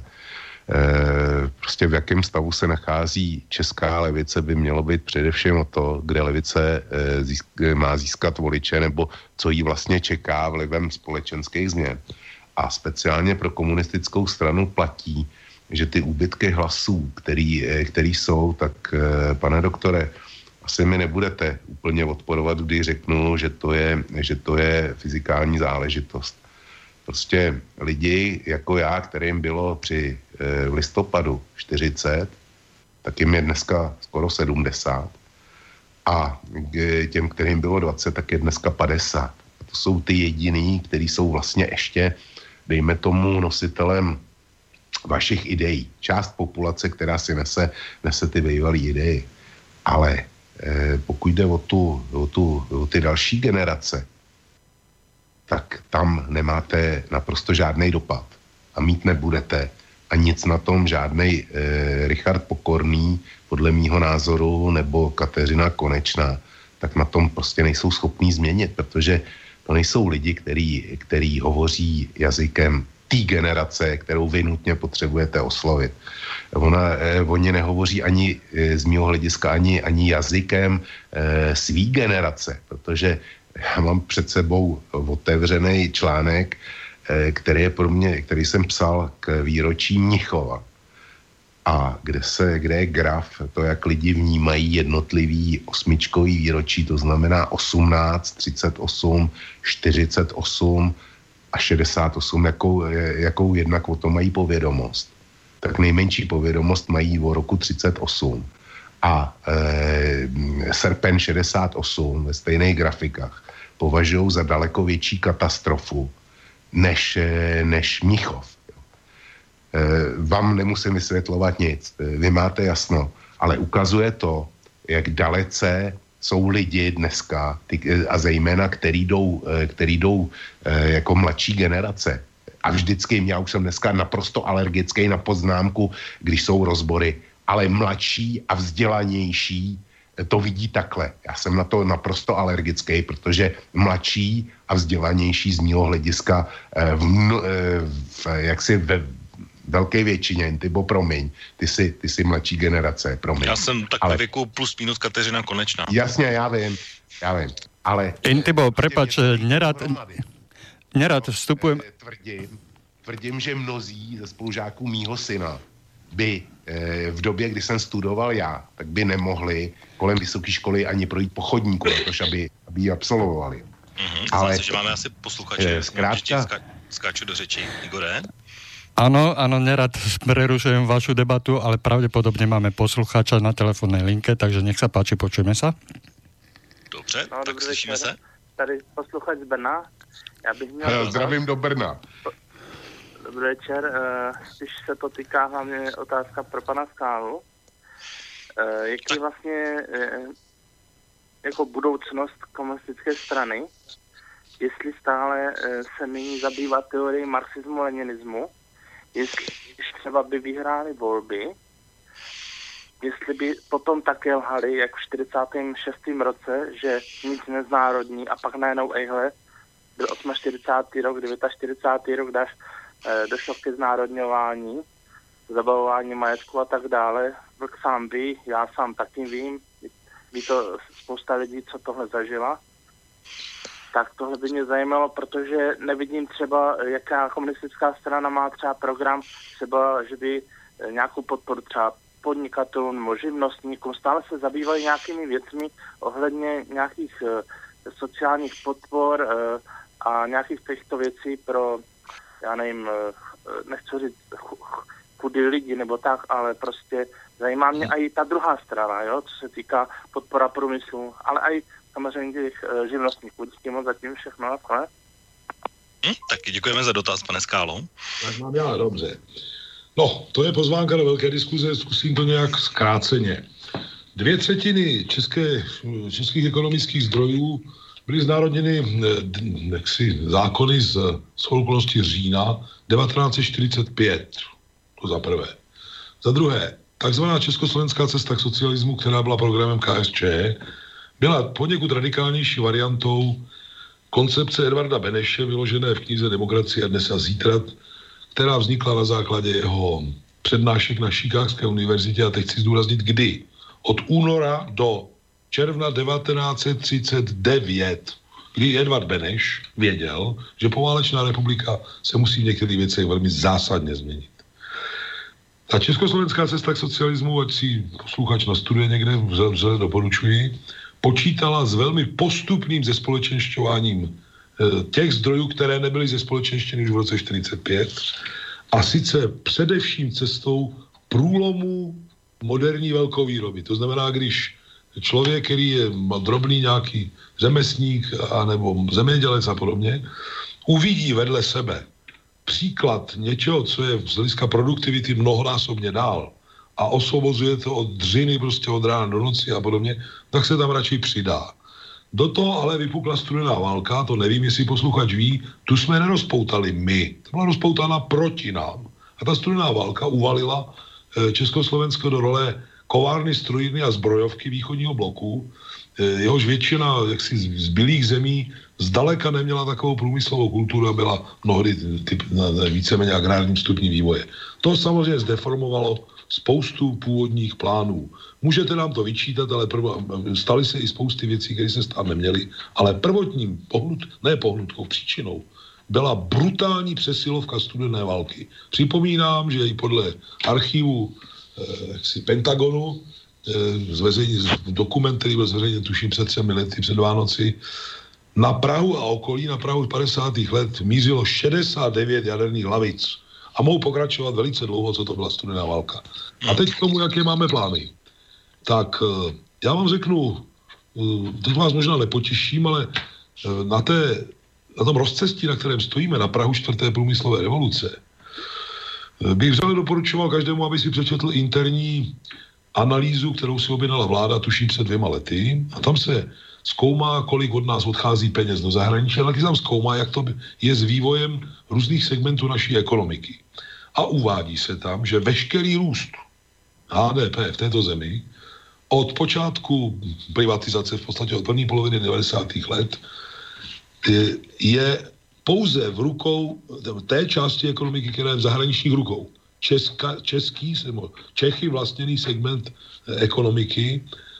E, prostě v jakém stavu se nachází česká levice, by mělo být především o to, kde levice e, získ, má získat voliče, nebo co jí vlastně čeká vlivem společenských změn. A speciálně pro komunistickou stranu platí, že ty úbytky hlasů, který, který jsou, tak e, pane doktore, asi mi nebudete úplně odporovat, když řeknu, že to je, že to je fyzikální záležitost. Prostě lidi jako já, kterým bylo při e, listopadu čtyřicet, tak jim je dneska skoro sedmdesát. A k těm, kterým bylo dvacet, tak je dneska padesát. A to jsou ty jediný, kteří jsou vlastně ještě, dejme tomu, nositelem vašich ideí. Část populace, která si nese, nese ty bývalý idei. Ale e, pokud jde o, tu, o, tu, o ty další generace, tak tam nemáte naprosto žádný dopad. A mít nebudete. A nic na tom žádnej e, Richard Pokorný, podle mýho názoru, nebo Kateřina Konečná, tak na tom prostě nejsou schopní změnit, protože to nejsou lidi, který, který hovoří jazykem té generace, kterou vy nutně potřebujete oslovit. Ona, eh, oni nehovoří ani eh, z mého hlediska ani, ani jazykem eh, svý generace, protože já mám před sebou otevřený článek který je pro mě, který jsem psal k výročí Mnichova. A kde se, kde je graf, to, jak lidi vnímají jednotlivý osmičkový výročí, to znamená osmnáct, třicet osm, čtyřicet osm a šedesát osm, jakou, jakou jednak o tom mají povědomost. Tak nejmenší povědomost mají o roku třicet osm. A e, srpen šedesát osm ve stejných grafikách považují za daleko větší katastrofu než, než Mnichov. Vám nemusím vysvětlovat nic, vy máte jasno, ale ukazuje to, jak dalece jsou lidi dneska, ty, a zejména, který jdou, který jdou jako mladší generace. A vždycky, já už jsem dneska naprosto alergický na poznámku, když jsou rozbory, ale mladší a vzdělanější to vidí takhle. Já jsem na to naprosto alergický, protože mladší a vzdělanější z mého hlediska v, v, jaksi ve velké většině, Intibo, promiň, ty jsi, ty jsi mladší generace, promiň. Já jsem tak ale... věku plus minus Kateřina Konečná. Jasně, já vím, já vím, ale... Intibo, prepač, nerad, nerad vstupujem... Tvrdím, tvrdím, že mnozí ze spolužáků mýho syna by e, v době, kdy jsem studoval já, tak by nemohli kolem vysoké školy ani projít po chodníku, protože aby, aby ji absolvovali. Mm-hmm, ale... že máme asi posluchače, zkrátka... ská, skáču do řeči. Igore? Áno, áno, nerad prerušujem vašu debatu, ale pravdepodobne máme poslucháča na telefónnej linke, takže nech sa páči, počujeme sa. Dobře, no, tak slyšíme se. Tady posluchač z Brna. Já bych měl... Hele, zdravím do Brna. Dobrý večer, když se to týká hlavně otázka pro pana Skálu. Jaký vlastně jako budoucnost komunistické strany, jestli stále se nyní zabývá teorií marxismu-leninismu, jestli třeba by vyhráli volby, jestli by potom také lhali, jak v čtyřicátém šestém roce, že nic neznárodní a pak najednou ejhle, byl čtyřicátý osmý rok, čtyřicátý devátý rok, dáš, e, došlo ke znárodňování, zabavování majetku a tak dále. Vlk sám ví, já sám taky vím, ví to spousta lidí, co tohle zažila. Tak tohle by mě zajímalo, protože nevidím třeba, jaká komunistická strana má třeba program, třeba, že by nějakou podporu třeba podnikatelům nebo živnostníkům, stále se zabývají nějakými věcmi ohledně nějakých uh, sociálních podpor uh, a nějakých těchto věcí pro, já nevím, uh, nechci říct chudý lidi nebo tak, ale prostě zajímá mě i ta druhá strana, jo, co se týká podpora průmyslu, ale i samozřejmě těch uh, živnostníků. Díky moc zatím všechno, nakonec. Hm, taky děkujeme za dotaz, pane Skálo. Tak mám já, dobře. No, to je pozvánka do velké diskuze, zkusím to nějak zkráceně. Dvě třetiny české, českých ekonomických zdrojů byly znárodněny jaksi, zákony z, z okolností října devatenáct set čtyřicet pět. To za prvé. Za druhé, takzvaná československá cesta k socialismu, která byla programem K S Č, byla poněkud radikálnější variantou koncepce Edvarda Beneše, vyložené v knize Demokracie dnes a zítra, která vznikla na základě jeho přednášek na Chicagské univerzitě, a teď chci zdůraznit kdy. Od února do června devatenáct set třicet devět, kdy Edvard Beneš věděl, že poválečná republika se musí v některých věcech velmi zásadně změnit. Ta československá cesta k socialismu, ať si posluchač nastuduje někde, vřele doporučuji, počítala s velmi postupným zespolečenšťováním těch zdrojů, které nebyly zespolečenštěny už v roce čtyřicet pět, a sice především cestou průlomu moderní velkovýroby. To znamená, když člověk, který je drobný nějaký řemesník anebo zemědělec a podobně, uvidí vedle sebe příklad něčeho, co je z hlediska produktivity mnohonásobně dál a osvobozuje to od dřiny prostě od rána do noci a podobně, tak se tam radši přidá. Do toho ale vypukla studená válka, to nevím, jestli posluchač ví, tu jsme nerozpoutali my, to byla rozpoutána proti nám. A ta studená válka uvalila Československo do role kovárny, strojírny a zbrojovky východního bloku, jehož většina jaksi zbylých zemí zdaleka neměla takovou průmyslovou kulturu a byla mnohdy typ, víceméně agrárním stupní vývoje. To samozřejmě zdeformovalo spoustu původních plánů. Můžete nám to vyčítat, ale prvo, staly se i spousty věcí, které se stát neměly, ale prvotním pohnut, ne pohnutkou, příčinou byla brutální přesilovka studené války. Připomínám, že i podle archivu eh, jaksi Pentagonu, eh, zveřejně, dokument, který byl zveřejněn tuším před třemi lety, před Vánoci, na Prahu a okolí, na Prahu padesátých let mířilo šedesát devět jaderných hlavic. A mohu pokračovat velice dlouho, co to byla studená válka. A teď k tomu, jaké máme plány. Tak eh, já vám řeknu, eh, teď vás možná nepotěším, ale eh, na té na tom rozcestí, na kterém stojíme, na prahu čtvrté průmyslové revoluce, bych vřele doporučoval každému, aby si přečetl interní analýzu, kterou si objednala vláda, tuším před dvěma lety. A tam se zkoumá, kolik od nás odchází peněz do zahraničí, ale taky tam zkoumá, jak to je s vývojem různých segmentů naší ekonomiky. A uvádí se tam, že veškerý růst H D P v této zemi od počátku privatizace, v podstatě od první poloviny devadesátých let, je pouze v rukou té části ekonomiky, která je v zahraničních rukou. Česka, český, Čechy vlastněný segment ekonomiky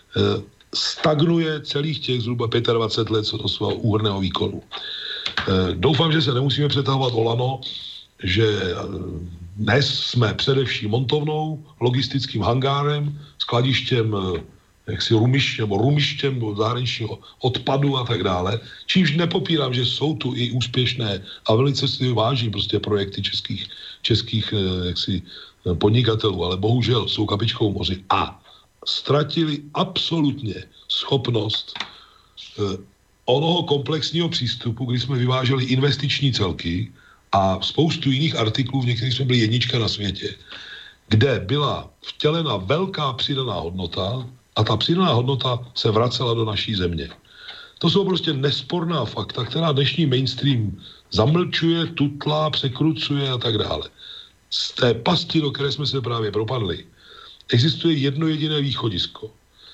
stagnuje celých těch zhruba dvacet pět let co do svého úhrnného výkonu. Doufám, že se nemusíme přetahovat o lano, že dnes jsme především montovnou, logistickým hangárem, skladištěm jaksi rumištěm, nebo rumištěm zahraničního odpadu a tak dále. Čímž nepopírám, že jsou tu i úspěšné a velice si váží prostě projekty českých, českých jaksi, podnikatelů, ale bohužel jsou kapičkou moři a ztratili absolutně schopnost eh, onoho komplexního přístupu, kdy jsme vyváželi investiční celky a spoustu jiných artiklů, v některých jsme byli jednička na světě, kde byla vtělena velká přidaná hodnota a ta přidaná hodnota se vracela do naší země. To jsou prostě nesporná fakta, která dnešní mainstream zamlčuje, tutlá, překrucuje a tak dále. Z té pasti, do které jsme se právě propadli, existuje jedno jediné východisko.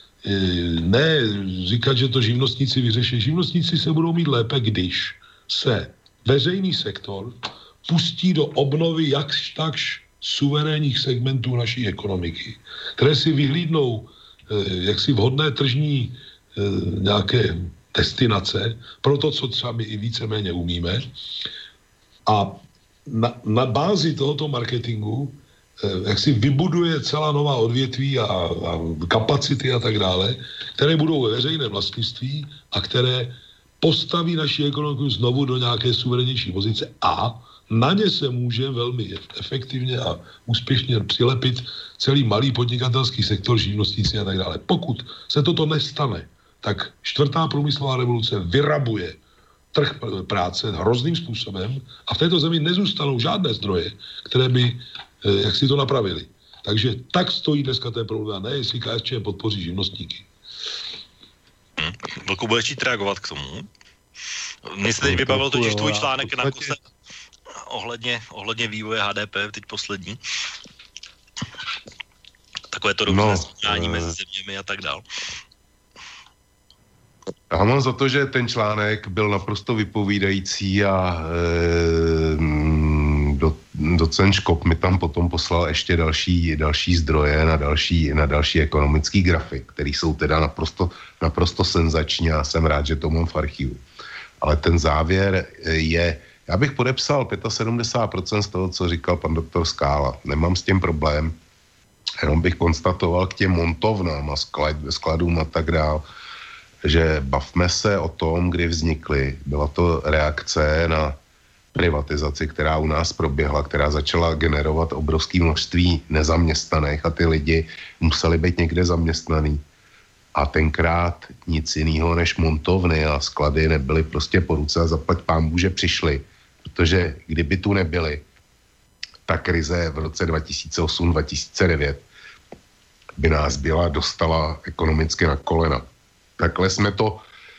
Ne říkat, že to živnostníci vyřeší. Živnostníci se budou mít lépe, když se veřejný sektor pustí do obnovy jakž takž suverénních segmentů naší ekonomiky, které si vyhlídnou jaksi vhodné tržní nějaké destinace pro to, co třeba my i víceméně umíme. A na, na bázi tohoto marketingu jak si vybuduje celá nová odvětví a, a kapacity a tak dále, které budou ve veřejné vlastnictví a které postaví naši ekonomiku znovu do nějaké suverénnější pozice a na ně se může velmi efektivně a úspěšně přilepit celý malý podnikatelský sektor, živnostníci a tak dále. Pokud se toto nestane, tak čtvrtá průmyslová revoluce vyrabuje trh práce hrozným způsobem a v této zemi nezůstanou žádné zdroje, které by jak si to napravili. Takže tak stojí dneska ten problém, ne jestli K S Č M podpoří živnostníky. Hmm. Vlku, budeš chtít reagovat k tomu? Mně se teď vybavil totiž tvůj článek na kuse ohledně, ohledně vývoje H D P, teď poslední. Takové to různé srovnání no, mezi zeměmi a tak dál. Já mám za to, že ten článek byl naprosto vypovídající a e, do, docent Škop mi tam potom poslal ještě další, další zdroje na další, na další ekonomický grafy, které jsou teda naprosto, naprosto senzační a jsem rád, že to mám v archivu. Ale ten závěr je, já bych podepsal sedmdesát pět procent z toho, co říkal pan doktor Skála. Nemám s tím problém, jenom bych konstatoval k těm montovnám a sklad, skladům a tak dál, že bavme se o tom, kdy vznikly. Byla to reakce na privatizaci, která u nás proběhla, která začala generovat obrovské množství nezaměstnaných a ty lidi museli být někde zaměstnaný. A tenkrát nic jiného než montovny a sklady nebyly prostě po ruce a zaplať pánbůh, že přišli. Protože kdyby tu nebyly, ta krize v roce dva tisíce osm dva tisíce devět by nás byla dostala ekonomicky na kolena. Takhle jsme to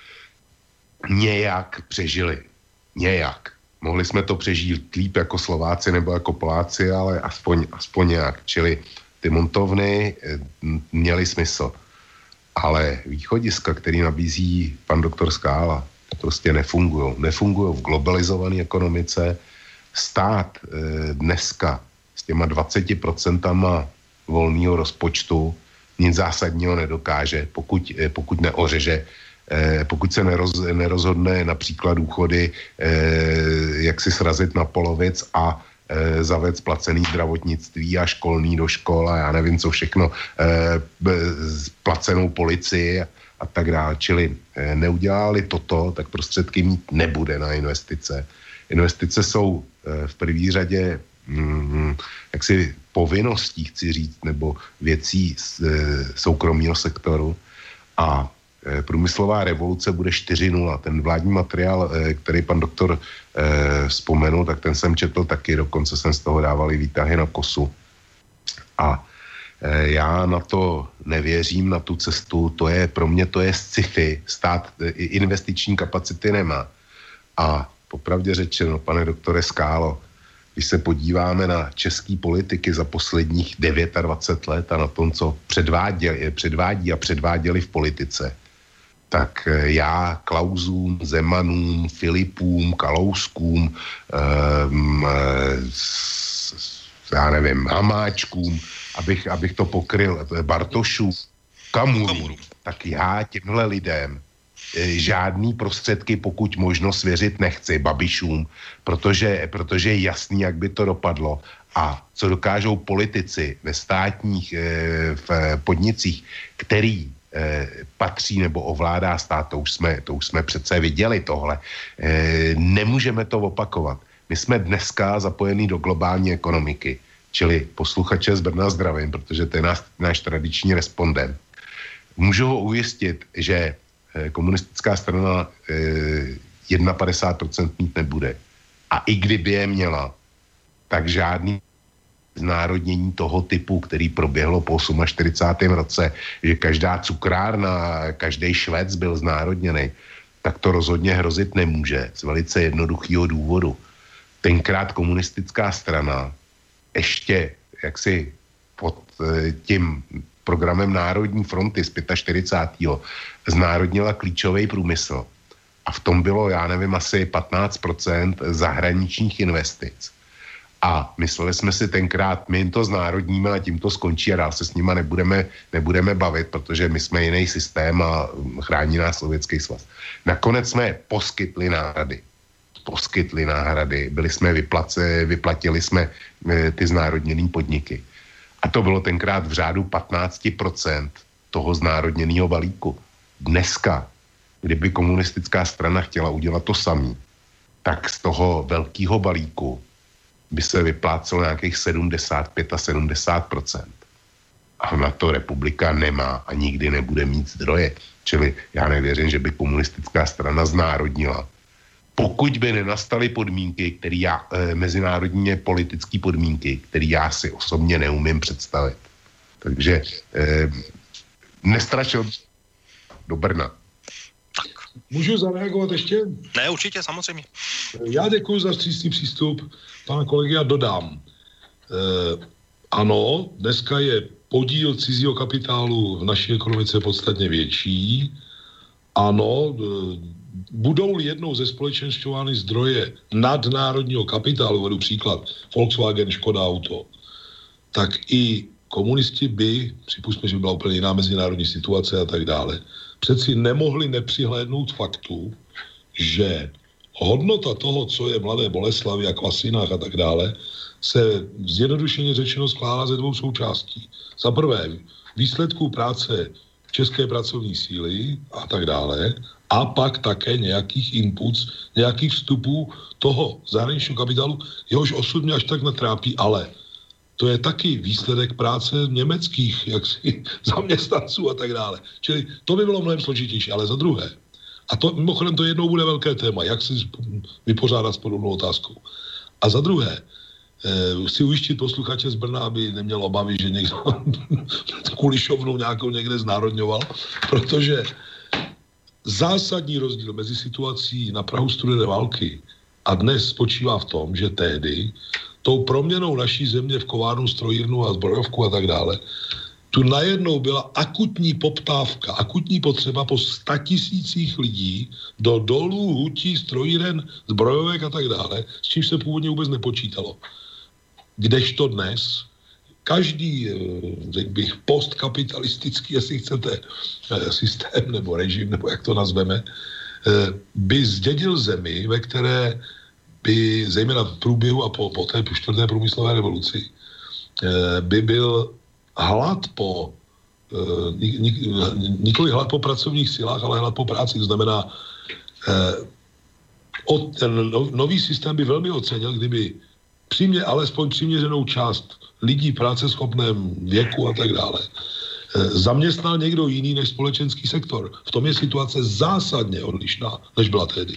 nějak přežili. Nějak. Mohli jsme to přežít líp jako Slováci nebo jako Poláci, ale aspoň, aspoň nějak. Čili ty montovny měly smysl. Ale východiska, který nabízí pan doktor Skála, prostě nefungují. Nefungují v globalizované ekonomice. Stát e, dneska s těma dvaceti procentama volného rozpočtu nic zásadního nedokáže, pokud, pokud neořeže eh, pokud se neroz, nerozhodne například důchody, eh, jak si srazit na polovic a eh, zavést placený zdravotnictví a školní do škol a já nevím co všechno, eh, placenou policii a, a tak dále. Čili eh, neudělali toto, tak prostředky mít nebude na investice. Investice jsou eh, v první řadě mm, jaksi povinností, chci říct, nebo věcí z e, soukromého sektoru a e, průmyslová revoluce bude čtyři nula. Ten vládní materiál, e, který pan doktor e, vzpomenul, tak ten jsem četl taky, dokonce jsem z toho dával i výtahy na kosu. A e, já na to nevěřím, na tu cestu, to je, pro mě to je sci-fi, stát e, investiční kapacity nemá. A popravdě řečeno, pane doktore Skálo, když se podíváme na český politiky za posledních dvacet devět let a na tom, co předváděli, předvádí a předváděli v politice, tak já Klausům, Zemanům, Filipům, Kalouskům, um, já nevím, Hamáčkům, abych, abych to pokryl, Bartošů, Kamuru, tak já těmhle lidem žádný prostředky, pokud možno svěřit nechci Babišům, protože, protože je jasný, jak by to dopadlo a co dokážou politici ve státních v podnicích, který patří nebo ovládá stát, to už jsme, to už jsme přece viděli tohle. Nemůžeme to opakovat. My jsme dneska zapojení do globální ekonomiky, čili posluchače z Brna zdravím, protože to je náš, náš tradiční respondent. Můžu ho ujistit, že komunistická strana eh, padesát jedna procent mít nebude. A i kdyby je měla, tak žádný znárodnění toho typu, který proběhlo po čtyřicátém osmém roce, že každá cukrárna, každý Švec byl znárodněný, tak to rozhodně hrozit nemůže. Z velice jednoduchého důvodu. Tenkrát komunistická strana ještě jaksi pod eh, tím programem Národní fronty z čtyřicátého pátého znárodnila klíčový průmysl. A v tom bylo, já nevím, asi patnáct procent zahraničních investic. A mysleli jsme si tenkrát, my jim to znárodníme a tím to skončí a dál se s nima nebudeme, nebudeme bavit, protože my jsme jiný systém a chrání nás Sovětský svaz. Nakonec jsme poskytli náhrady. Poskytli náhrady. Byli jsme vyplace, vyplatili jsme e, ty znárodněný podniky. A to bylo tenkrát v řádu patnáct procent toho znárodněného balíku. Dneska, kdyby komunistická strana chtěla udělat to samý, tak z toho velkého balíku by se vyplácelo nějakých sedmdesát pět a sedmdesát procent. A na to republika nemá a nikdy nebude mít zdroje. Čili já nevěřím, že by komunistická strana znárodnila. Pokud by nenastaly podmínky, které já, e, mezinárodně politické podmínky, které já si osobně neumím představit. Takže e, nestrašil do Brna. Tak. Můžu zareagovat ještě? Ne, určitě, samozřejmě. Já děkuji za vstřícný přístup pana kolegy a dodám. E, ano, dneska je podíl cizího kapitálu v naší ekonomice podstatně větší. Ano, e, budou-li jednou ze společenstvovány zdroje nadnárodního kapitálu, vedu příklad Volkswagen, Škoda Auto, tak i komunisti by, připustme, že by byla úplně jiná mezinárodní situace a tak dále, přeci nemohli nepřihlédnout faktu, že hodnota toho, co je Mladé Boleslavi a Kvasinách a tak dále, se zjednodušeně řečeno skládá ze dvou součástí. Za prvé, výsledků práce české pracovní síly a tak dále, a pak také nějakých inputs, nějakých vstupů toho zahraničního kapitálu, jehož osud mě až tak netrápí, ale to je taky výsledek práce německých jaksi, zaměstnanců a tak dále. Čili to by bylo mnohem složitější, ale za druhé, a to mimochodem to jednou bude velké téma, jak si vypořádat s podobnou otázkou. A za druhé, eh, chci ujištit posluchače z Brna, aby neměl obavy, že někdo kulišovnou nějakou někde znárodňoval, protože zásadní rozdíl mezi situací na prahu studené války a dnes spočívá v tom, že tehdy tou proměnou naší země v kovárnu, strojírnu a zbrojovku a tak dále, tu najednou byla akutní poptávka, akutní potřeba po statisících lidí do dolů, hutí, strojíren, zbrojovek a tak dále, s čím se původně vůbec nepočítalo. Kdežto dnes každý, řekl bych, postkapitalistický, jestli chcete, systém nebo režim, nebo jak to nazveme, by zdědil zemi, ve které by, zejména v průběhu a po, po té čtvrté průmyslové revoluci, by byl hlad po, nikoli hlad po pracovních silách, ale hlad po práci. To znamená, ten nový systém by velmi ocenil, kdyby přimě, alespoň přiměřenou část lidí v práceschopném věku a tak dále zaměstnal někdo jiný než společenský sektor. V tom je situace zásadně odlišná, než byla tehdy.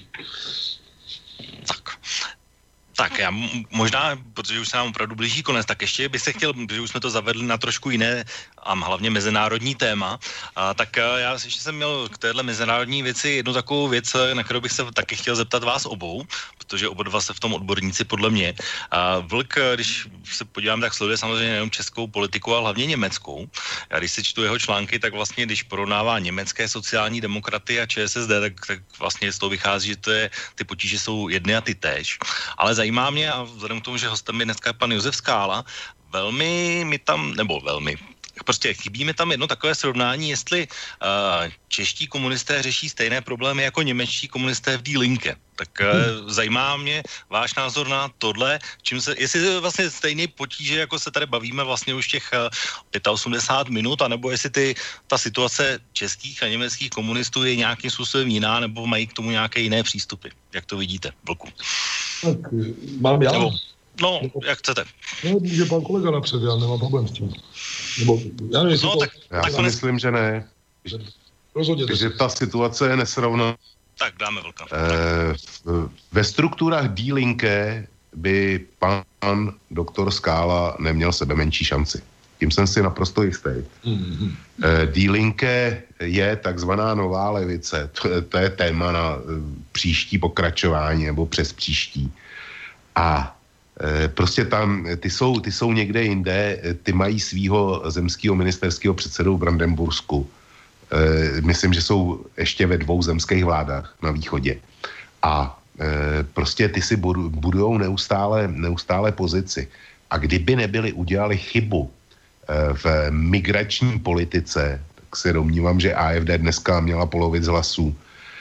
Tak. Tak já možná, protože už se nám opravdu blíží konec, tak ještě bych se chtěl, protože už jsme to zavedli na trošku jiné a hlavně mezinárodní téma, a tak já ještě jsem měl k téhle mezinárodní věci jednu takovou věc, na kterou bych se taky chtěl zeptat vás obou, protože oba dva se v tom odborníci podle mě. A Vlk, když se podívám, tak sleduje samozřejmě nejenom českou politiku, ale hlavně německou. Já když si čtu jeho články, tak vlastně, když porovnává německé sociální demokraty a ČSSD, tak, tak vlastně z toho vychází, že to je, ty potíže jsou jedny a ty též. Ale zajímá mě, a vzhledem k tomu, že hostem je dneska pan Josef Skála, velmi mi tam, nebo velmi, prostě chybí mi tam jedno takové srovnání, jestli uh, čeští komunisté řeší stejné problémy jako němečtí komunisté v Die Linke. Tak uh, zajímá mě váš názor na tohle, čím se, jestli je vlastně stejný potíže, jako se tady bavíme vlastně už těch uh, osmdesát pět minut, anebo jestli ty, ta situace českých a německých komunistů je nějakým způsobem jiná, nebo mají k tomu nějaké jiné přístupy. Jak to vidíte, Vlku? Tak mám já. Nebo, no, jak chcete. No, může pan kolega napřed, já nemám problém s tím. Nebo, já nevím, no, to... tak, já tak si konec... myslím, že ne. Rozhodně. Takže ta situace je nesrovná. Tak dáme Vlka. Eh, ve strukturách Die Linke by pan doktor Skála neměl sebe menší šanci. Tím jsem si naprosto jistý. Mm-hmm. Eh, Die Linke je takzvaná nová levice. To, to je téma na příští pokračování nebo přes příští. A e, prostě tam, ty jsou, ty jsou někde jinde, ty mají svýho zemského ministerského předsedu v Brandenbursku. E, myslím, že jsou ještě ve dvou zemských vládách na východě. A e, prostě ty si budujou neustále, neustále pozici. A kdyby nebyli udělali chybu e, v migrační politice, tak se domnívám, že A F D dneska měla polovic hlasů.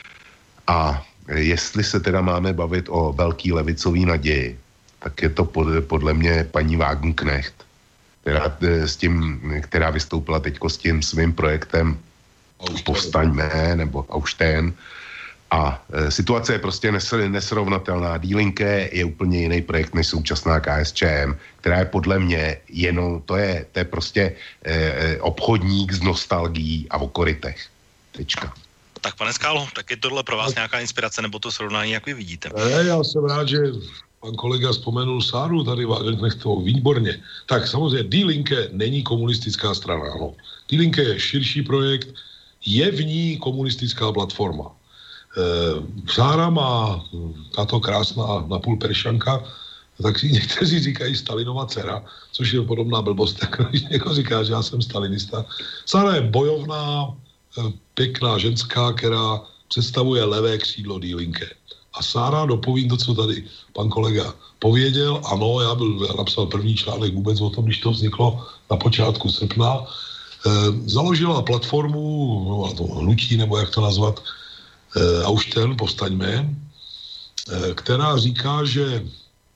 A jestli se teda máme bavit o velký levicový naději, tak je to pod, podle mě paní Wagenknecht, která, s tím, která vystoupila teďko s tím svým projektem Povstaňme nebo Aufstehen. A e, situace je prostě nes, nesrovnatelná. Die Linke je úplně jiný projekt než současná K S Č M, která je podle mě jenom, to je, to je prostě e, obchodník s nostalgií a o korytech. Tečka. Tak pane Skálo, tak je tohle pro vás nějaká inspirace nebo to srovnání, jak vy vidíte? Ne, já jsem rád, že pan kolega vzpomenul Sáru tady Wagenknechtovou, výborně. Tak samozřejmě Die Linke není komunistická strana, ano. Die Linke je širší projekt, je v ní komunistická platforma. E, Sára má tato krásná napůl peršanka, tak si někteří říkají Stalinova dcera, což je podobná blbost, jako když někdo říká, že já jsem stalinista. Sára je bojovná, pěkná ženská, která představuje levé křídlo Die Linke. A Sára, dopovím to, co tady pan kolega pověděl. Ano, já byl já napsal první článek vůbec o tom, když to vzniklo na počátku srpna. E, založila platformu, no, to hnutí, nebo jak to nazvat, e, Aufstehen, Povstaňme, e, která říká, že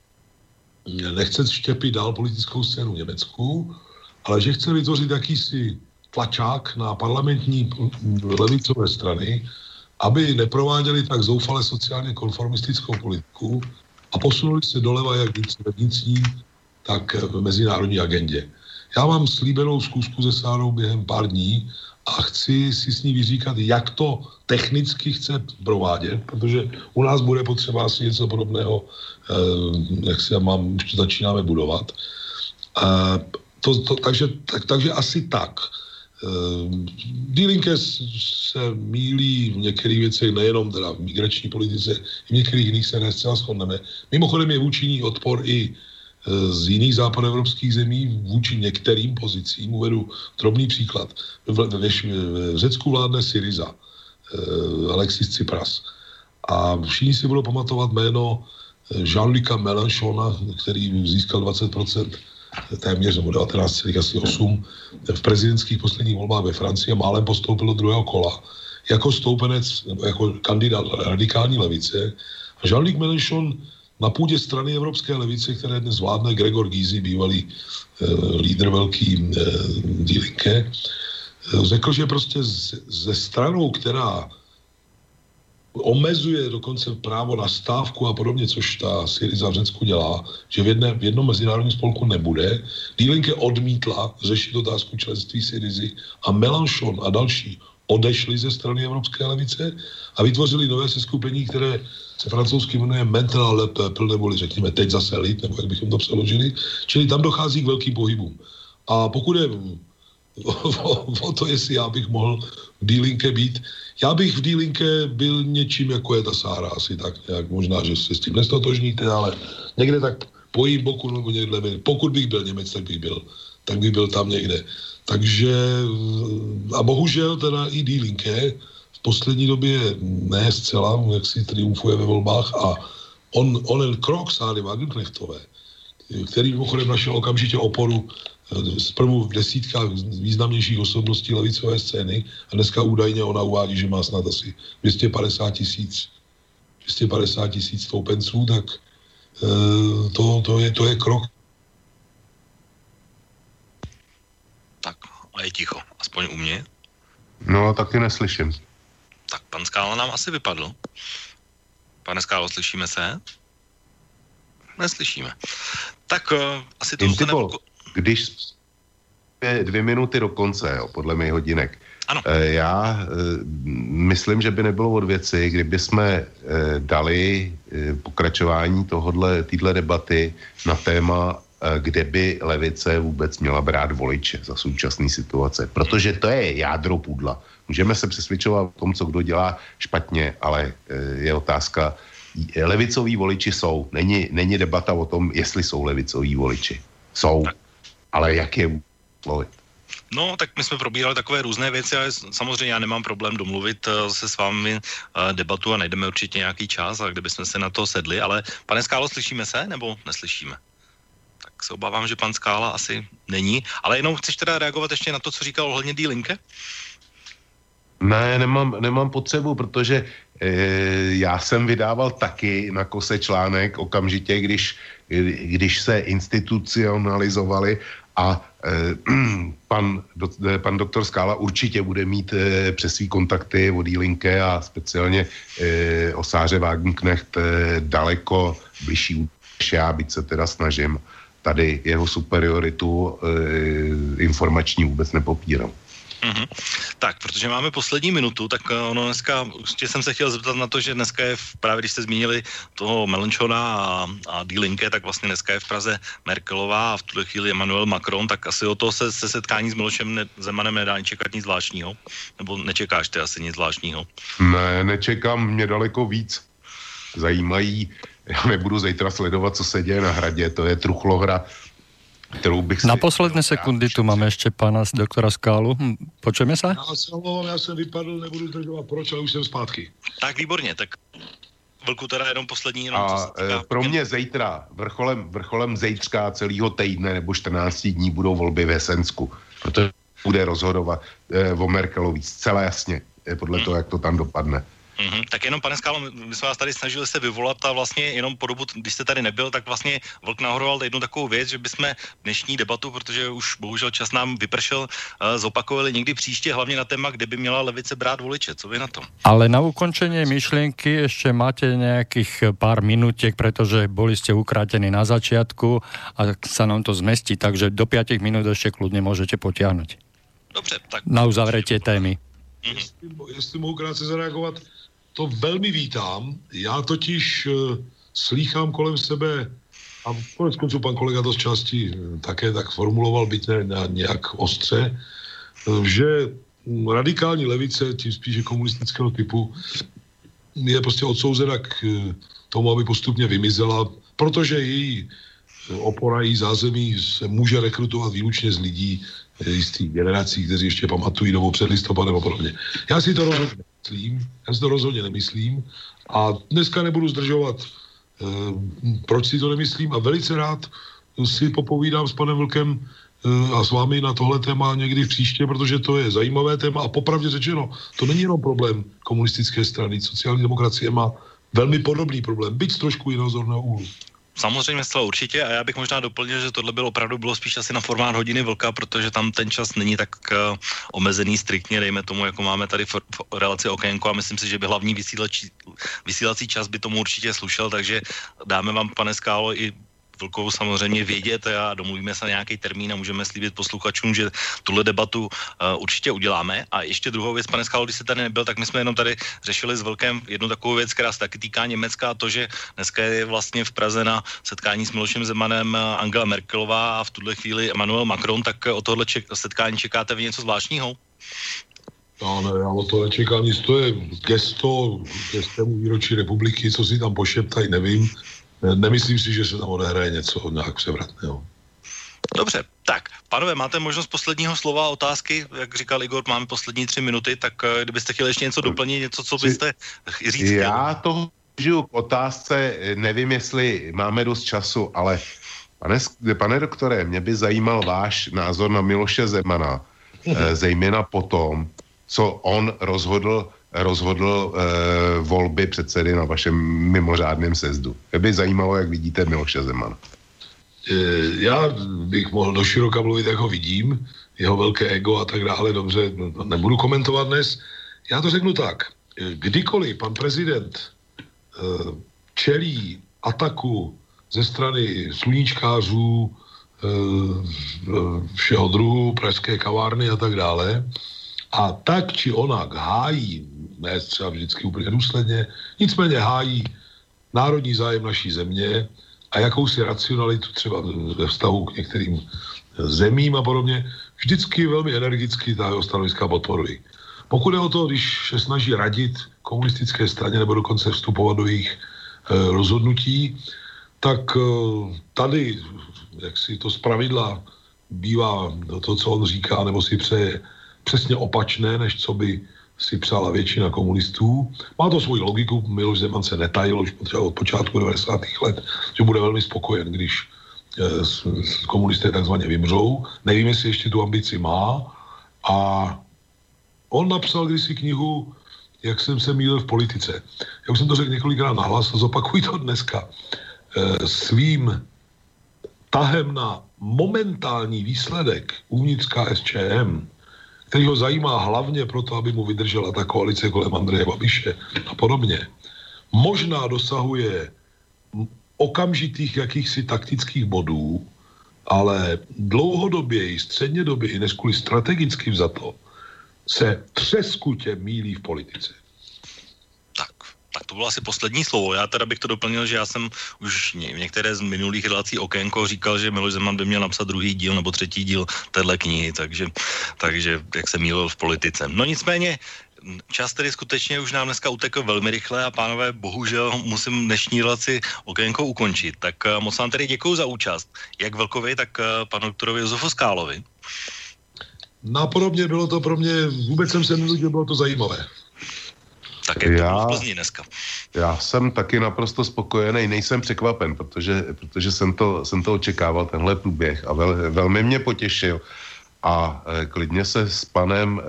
nechce štěpit dál politickou scénu v Německu, ale že chce vytvořit jakýsi tlačák na parlamentní levicové strany, aby neprováděli tak zoufale sociálně konformistickou politiku a posunuli se doleva jak ve vnitřní, tak v mezinárodní agendě. Já mám slíbenou zkusku se Sárou během pár dní a chci si s ní vyříkat, jak to technicky chce provádět, protože u nás bude potřeba asi něco podobného, jak si mám, už to začínáme budovat. To, to, takže, tak, takže asi tak. Die Linke se mýlí v některých věcech, nejenom teda v migrační politice, i v některých jiných se nescela shodneme. Mimochodem je vůči ní odpor i z jiných západoevropských zemí vůči některým pozicím. Uvedu drobný příklad. V, v, v Řecku vládne Syriza, Alexis Tsipras. A všichni si budou pamatovat jméno Jean-Luca Mélenchona, který získal dvacet procent téměř nebo devatenáct celá osm v prezidentských posledních volbách ve Francii a málem postoupil do druhého kola jako stoupenec, nebo jako kandidát radikální levice. A Jean-Luc Mélenchon na půdě strany Evropské levice, které dnes vládne Gregor Gysi, bývalý eh, lídr velký eh, Die Linke, eh, řekl, že prostě z, ze stranou, která omezuje dokonce právo na stávku a podobně, což ta Syriza v Řecku dělá, že v, jedné, v jednom mezinárodním spolku nebude. Die Linke odmítla řešit otázku členství Syrizy a Mélenchon a další odešli ze strany Evropské levice a vytvořili nové seskupení, které se francouzsky jmenuje Maintenant le peuple, neboli řekněme teď zase lid, nebo jak bychom to přeložili. Čili tam dochází k velkým pohybům. A pokud je o, o, o to, jestli já bych mohl v Die Linke být, já bych v Die Linke byl něčím, jako je ta Sára, asi tak nějak, možná, že se s tím nestotožníte, ale někde tak po jejím boku, nebo někde, pokud bych byl Němec, tak bych byl, tak bych byl tam někde. Takže, a bohužel teda i Die Linke v poslední době ne zcela, jak si triumfuje ve volbách a on, onen krok Sáry Wagenknechtové, který mimochodem našel okamžitě oporu zprvu v desítkách významnějších osobností levicové scény a dneska údajně ona uvádí, že má snad asi dvě stě padesát tisíc dvě stě padesát tisíc stoupenců, tak to, to, je, to je krok. Tak a je ticho, aspoň u mě. No, taky neslyším. Tak pan Skála nám asi vypadl. Pane Skálo, slyšíme se? Neslyšíme. Tak uh, asi to se nebudu... Když je dvě minuty do konce, jo, podle mých hodinek. Ano. E, já e, myslím, že by nebylo od věci, kdyby jsme e, dali e, pokračování tohodle, týhle debaty na téma, e, kde by levice vůbec měla brát voliče za současné situace. Protože to je jádro pudla. Můžeme se přesvědčovat o tom, co kdo dělá špatně, ale e, je otázka, levicoví voliči jsou. Není, není debata o tom, jestli jsou levicoví voliči. Jsou. Tak. Ale jak je mluvit? No, tak my jsme probírali takové různé věci, ale samozřejmě já nemám problém domluvit se s vámi debatu a najdeme určitě nějaký čas, a kdybychom se na to sedli, ale pane Skálo, slyšíme se nebo neslyšíme? Tak se obávám, že pan Skála asi není, ale jenom chceš teda reagovat ještě na to, co říkal ohledně Die Linke? Ne, nemám, nemám potřebu, protože e, já jsem vydával taky na Kose článek okamžitě, když, když se institucionalizovali a e, pan, do, pan doktor Skála určitě bude mít e, přes svý kontakty o Die Linke a speciálně e, o Sáře Wagenknecht e, daleko bližší než já, byť se teda snažím. Tady jeho superioritu e, informační vůbec nepopírám. Mm-hmm. Tak, protože máme poslední minutu, tak ono dneska, ještě jsem se chtěl zeptat na to, že dneska je, v, právě když jste zmínili toho Mélenchona a, a Die Linke, tak vlastně dneska je v Praze Merkelová a v tuhle chvíli Emmanuel Macron, tak asi o to se, se setkání s Milošem ne, Zemanem nedá čekat nic zvláštního? Nebo nečekáš ty asi nic zvláštního? Ne, nečekám, mě daleko víc zajímají, já nebudu zítra sledovat, co se děje na Hradě, to je truchlohra, kterou bych si... Na posledné sekundy tu máme ještě pana doktora Skálu. Hm, počujeme se? Já se omlouvám, já jsem vypadl, nebudu zdržovat, proč, ale už jsem zpátky. Tak výborně, tak velkou teda jenom poslední. Jenom a e, pro mě zítra, vrcholem, vrcholem zítřka celého týdne nebo čtrnáct dní budou volby v Jesensku, protože bude rozhodovat e, o Merkelový zcela jasně, e, podle hmm. toho, jak to tam dopadne. Mm-hmm. Tak jenom, pane Skálo, my jsme vás tady snažili se vyvolat a vlastně jenom po dobu, když jste tady nebyl, tak vlastně Vlk nahodoval jednu takovou věc, že bychom dnešní debatu, protože už bohužel čas nám vypršel, uh, zopakovali někdy příště, hlavně na téma, kde by měla levice brát voliče. Co vy na to? Ale na ukončenie myšlienky ešte máte nejakých pár minutiek, pretože boli ste ukrátení na začiatku a sa nám to zmestí, takže do päť minút ešte kľudne môžete potiahnuť. Dobře, tak... Na uzavretie témy. Mm-hmm. Jestli, jestli mohu krátce zareagovat, to velmi vítám. Já totiž uh, slýchám kolem sebe, a konec konců pan kolega to z části uh, také tak formuloval, byť ne na nějak ostře, uh, že radikální levice, tím spíše komunistického typu, je prostě odsouzena k uh, tomu, aby postupně vymizela, protože její uh, opora, její zázemí se může rekrutovat výlučně z lidí jistých generací, kteří ještě pamatují dobu před listopadem a podobně. Já si to rozhodně nemyslím, já si to rozhodně nemyslím a dneska nebudu zdržovat, e, proč si to nemyslím a velice rád si popovídám s panem Vlkem a s vámi na tohle téma někdy v příště, protože to je zajímavé téma a popravdě řečeno, to není jenom problém komunistické strany. Sociální demokracie má velmi podobný problém, byť z trošku jiného zorného úhlu. Samozřejmě zcela určitě a já bych možná doplnil, že tohle bylo opravdu bylo spíš asi na formát hodiny vlka, protože tam ten čas není tak uh, omezený striktně, dejme tomu, jako máme tady v, v relaci Okénko a myslím si, že by hlavní vysílací, vysílací čas by tomu určitě slušel, takže dáme vám, pane Skálo, i Vlkovu samozřejmě vědět a domluvíme se na nějaký termín a můžeme slíbit posluchačům, že tuhle debatu uh, určitě uděláme. A ještě druhou věc, pane Skálo, když jste tady nebyl, tak my jsme jenom tady řešili s Vlkem jednu takovou věc, která se taky týká Německa, a to, že dneska je vlastně v Praze na setkání s Milošem Zemanem Angela Merkelová a v tuhle chvíli Emmanuel Macron, tak o tohle ček- setkání čekáte vy něco zvláštního? No, ne, já o to nečekám nic, to je gesto k gestému výročí republiky, co si tam pošeptají, nevím. Nemyslím si, že se tam odehraje něco nějak převratného. Dobře, tak, pánové, máte možnost posledního slova a otázky, jak říkal Igor, máme poslední tři minuty, tak kdybyste chtěli ještě něco doplnit, něco, co byste říct. Já toho žiju k otázce, nevím, jestli máme dost času, ale pane, pane doktore, mě by zajímal váš názor na Miloše Zemana, zejména po tom, co on rozhodl rozhodl e, volby předsedy na vašem mimořádném sezdu. Mě by zajímalo, jak vidíte Miloše Zemana. E, já bych mohl do široka mluvit, jak ho vidím, jeho velké ego a tak dále, dobře, nebudu komentovat dnes. Já to řeknu tak. Kdykoliv pan prezident e, čelí ataku ze strany sluníčkářů, e, všeho druhu, pražské kavárny a tak dále, a tak či onak hájí, ne třeba vždycky úplně důsledně, nicméně hájí národní zájem naší země a jakousi racionalitu třeba ve vztahu k některým zemím a podobně, vždycky velmi energicky ta jeho stanoviska podporují. Pokud je o to, když se snaží radit komunistické straně nebo dokonce vstupovat do jejich e, rozhodnutí, tak e, tady, jak si to zpravidla bývá to, co on říká, nebo si přeje, přesně opačné, než co by si přála většina komunistů. Má to svoji logiku, Miloš Zeman se netajil už od počátku devadesátých let, že bude velmi spokojen, když e, s, s komunisté takzvaně vymřou. Nevím, jestli ještě tu ambici má. A on napsal kdysi knihu, jak jsem se mýlil v politice. Já už jsem to řekl několikrát nahlas a zopakuji to dneska. E, svým tahem na momentální výsledek uvnitř K S Č M, který ho zajímá hlavně proto, aby mu vydržela ta koalice kolem Andreje Babiše a podobně, možná dosahuje okamžitých jakýchsi taktických bodů, ale dlouhodobě, střednědobě, než kvůli strategicky vzato, se třeskutě mýlí v politice. Tak, tak to bylo asi poslední slovo. Já teda bych to doplnil, že já jsem už v některé z minulých relací Okénko říkal, že Miloš Zeman by měl napsat druhý díl nebo třetí díl téhle knihy, takže, takže jak se mýlil v politice. No nicméně, čas tedy skutečně už nám dneska utekl velmi rychle a pánové, bohužel musím dnešní relaci Okénko ukončit. Tak moc vám tedy děkuju za účast, jak Vlkovi, tak panu doktorovi Josefu Skálovi. Napodobně bylo to pro mě, vůbec jsem se nenudil, bylo to zajímavé. Tak jak já, to bylo v Plzni dneska. Já jsem taky naprosto spokojený, nejsem překvapen, protože, protože jsem, to, jsem to očekával, tenhle průběh a vel, velmi mě potěšil. A e, klidně se s panem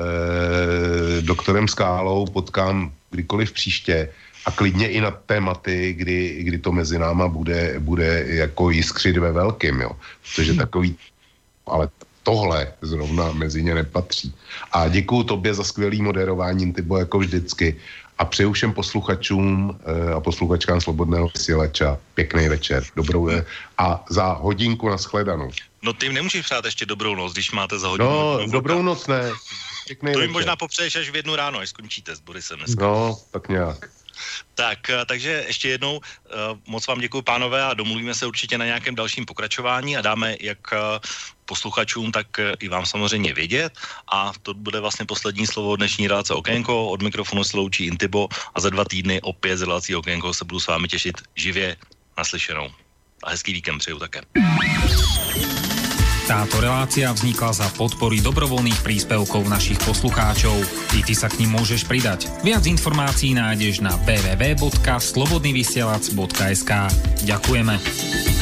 e, doktorem Skálou potkám kdykoliv příště a klidně i na tématy, kdy, kdy to mezi náma bude, bude jako jiskřit ve velkým, jo. Protože takový, ale tohle zrovna mezi ně nepatří. A děkuju tobě za skvělý moderování, Tybo, jako vždycky. A přeju všem posluchačům e, a posluchačkám Slobodného vysílača pěkný večer. Dobrou je. A za hodinku nashledanou. No ty jim nemůžeš přát ještě dobrou noc, když máte za hodinu. No, dobrou noc ne. Pěkný to jim večer. Možná popřeješ až v jednu ráno, až skončíte s Borisem dneska. No, tak nějak. Tak, takže ještě jednou moc vám děkuji, pánové, a domluvíme se určitě na nějakém dalším pokračování a dáme jak posluchačům, tak i vám samozřejmě vědět. A to bude vlastně poslední slovo dnešní relace Okénko. Od mikrofonu se loučí Intibo a za dva týdny opět z relací Okénko se budu s vámi těšit živě naslyšenou. A hezký víkend přeju také. Táto relácia vznikla za podpory dobrovoľných príspevkov našich poslucháčov. I ty sa k nim môžeš pridať. Viac informácií nájdeš na w w w bodka slobodnyvysielac bodka es ka. Ďakujeme.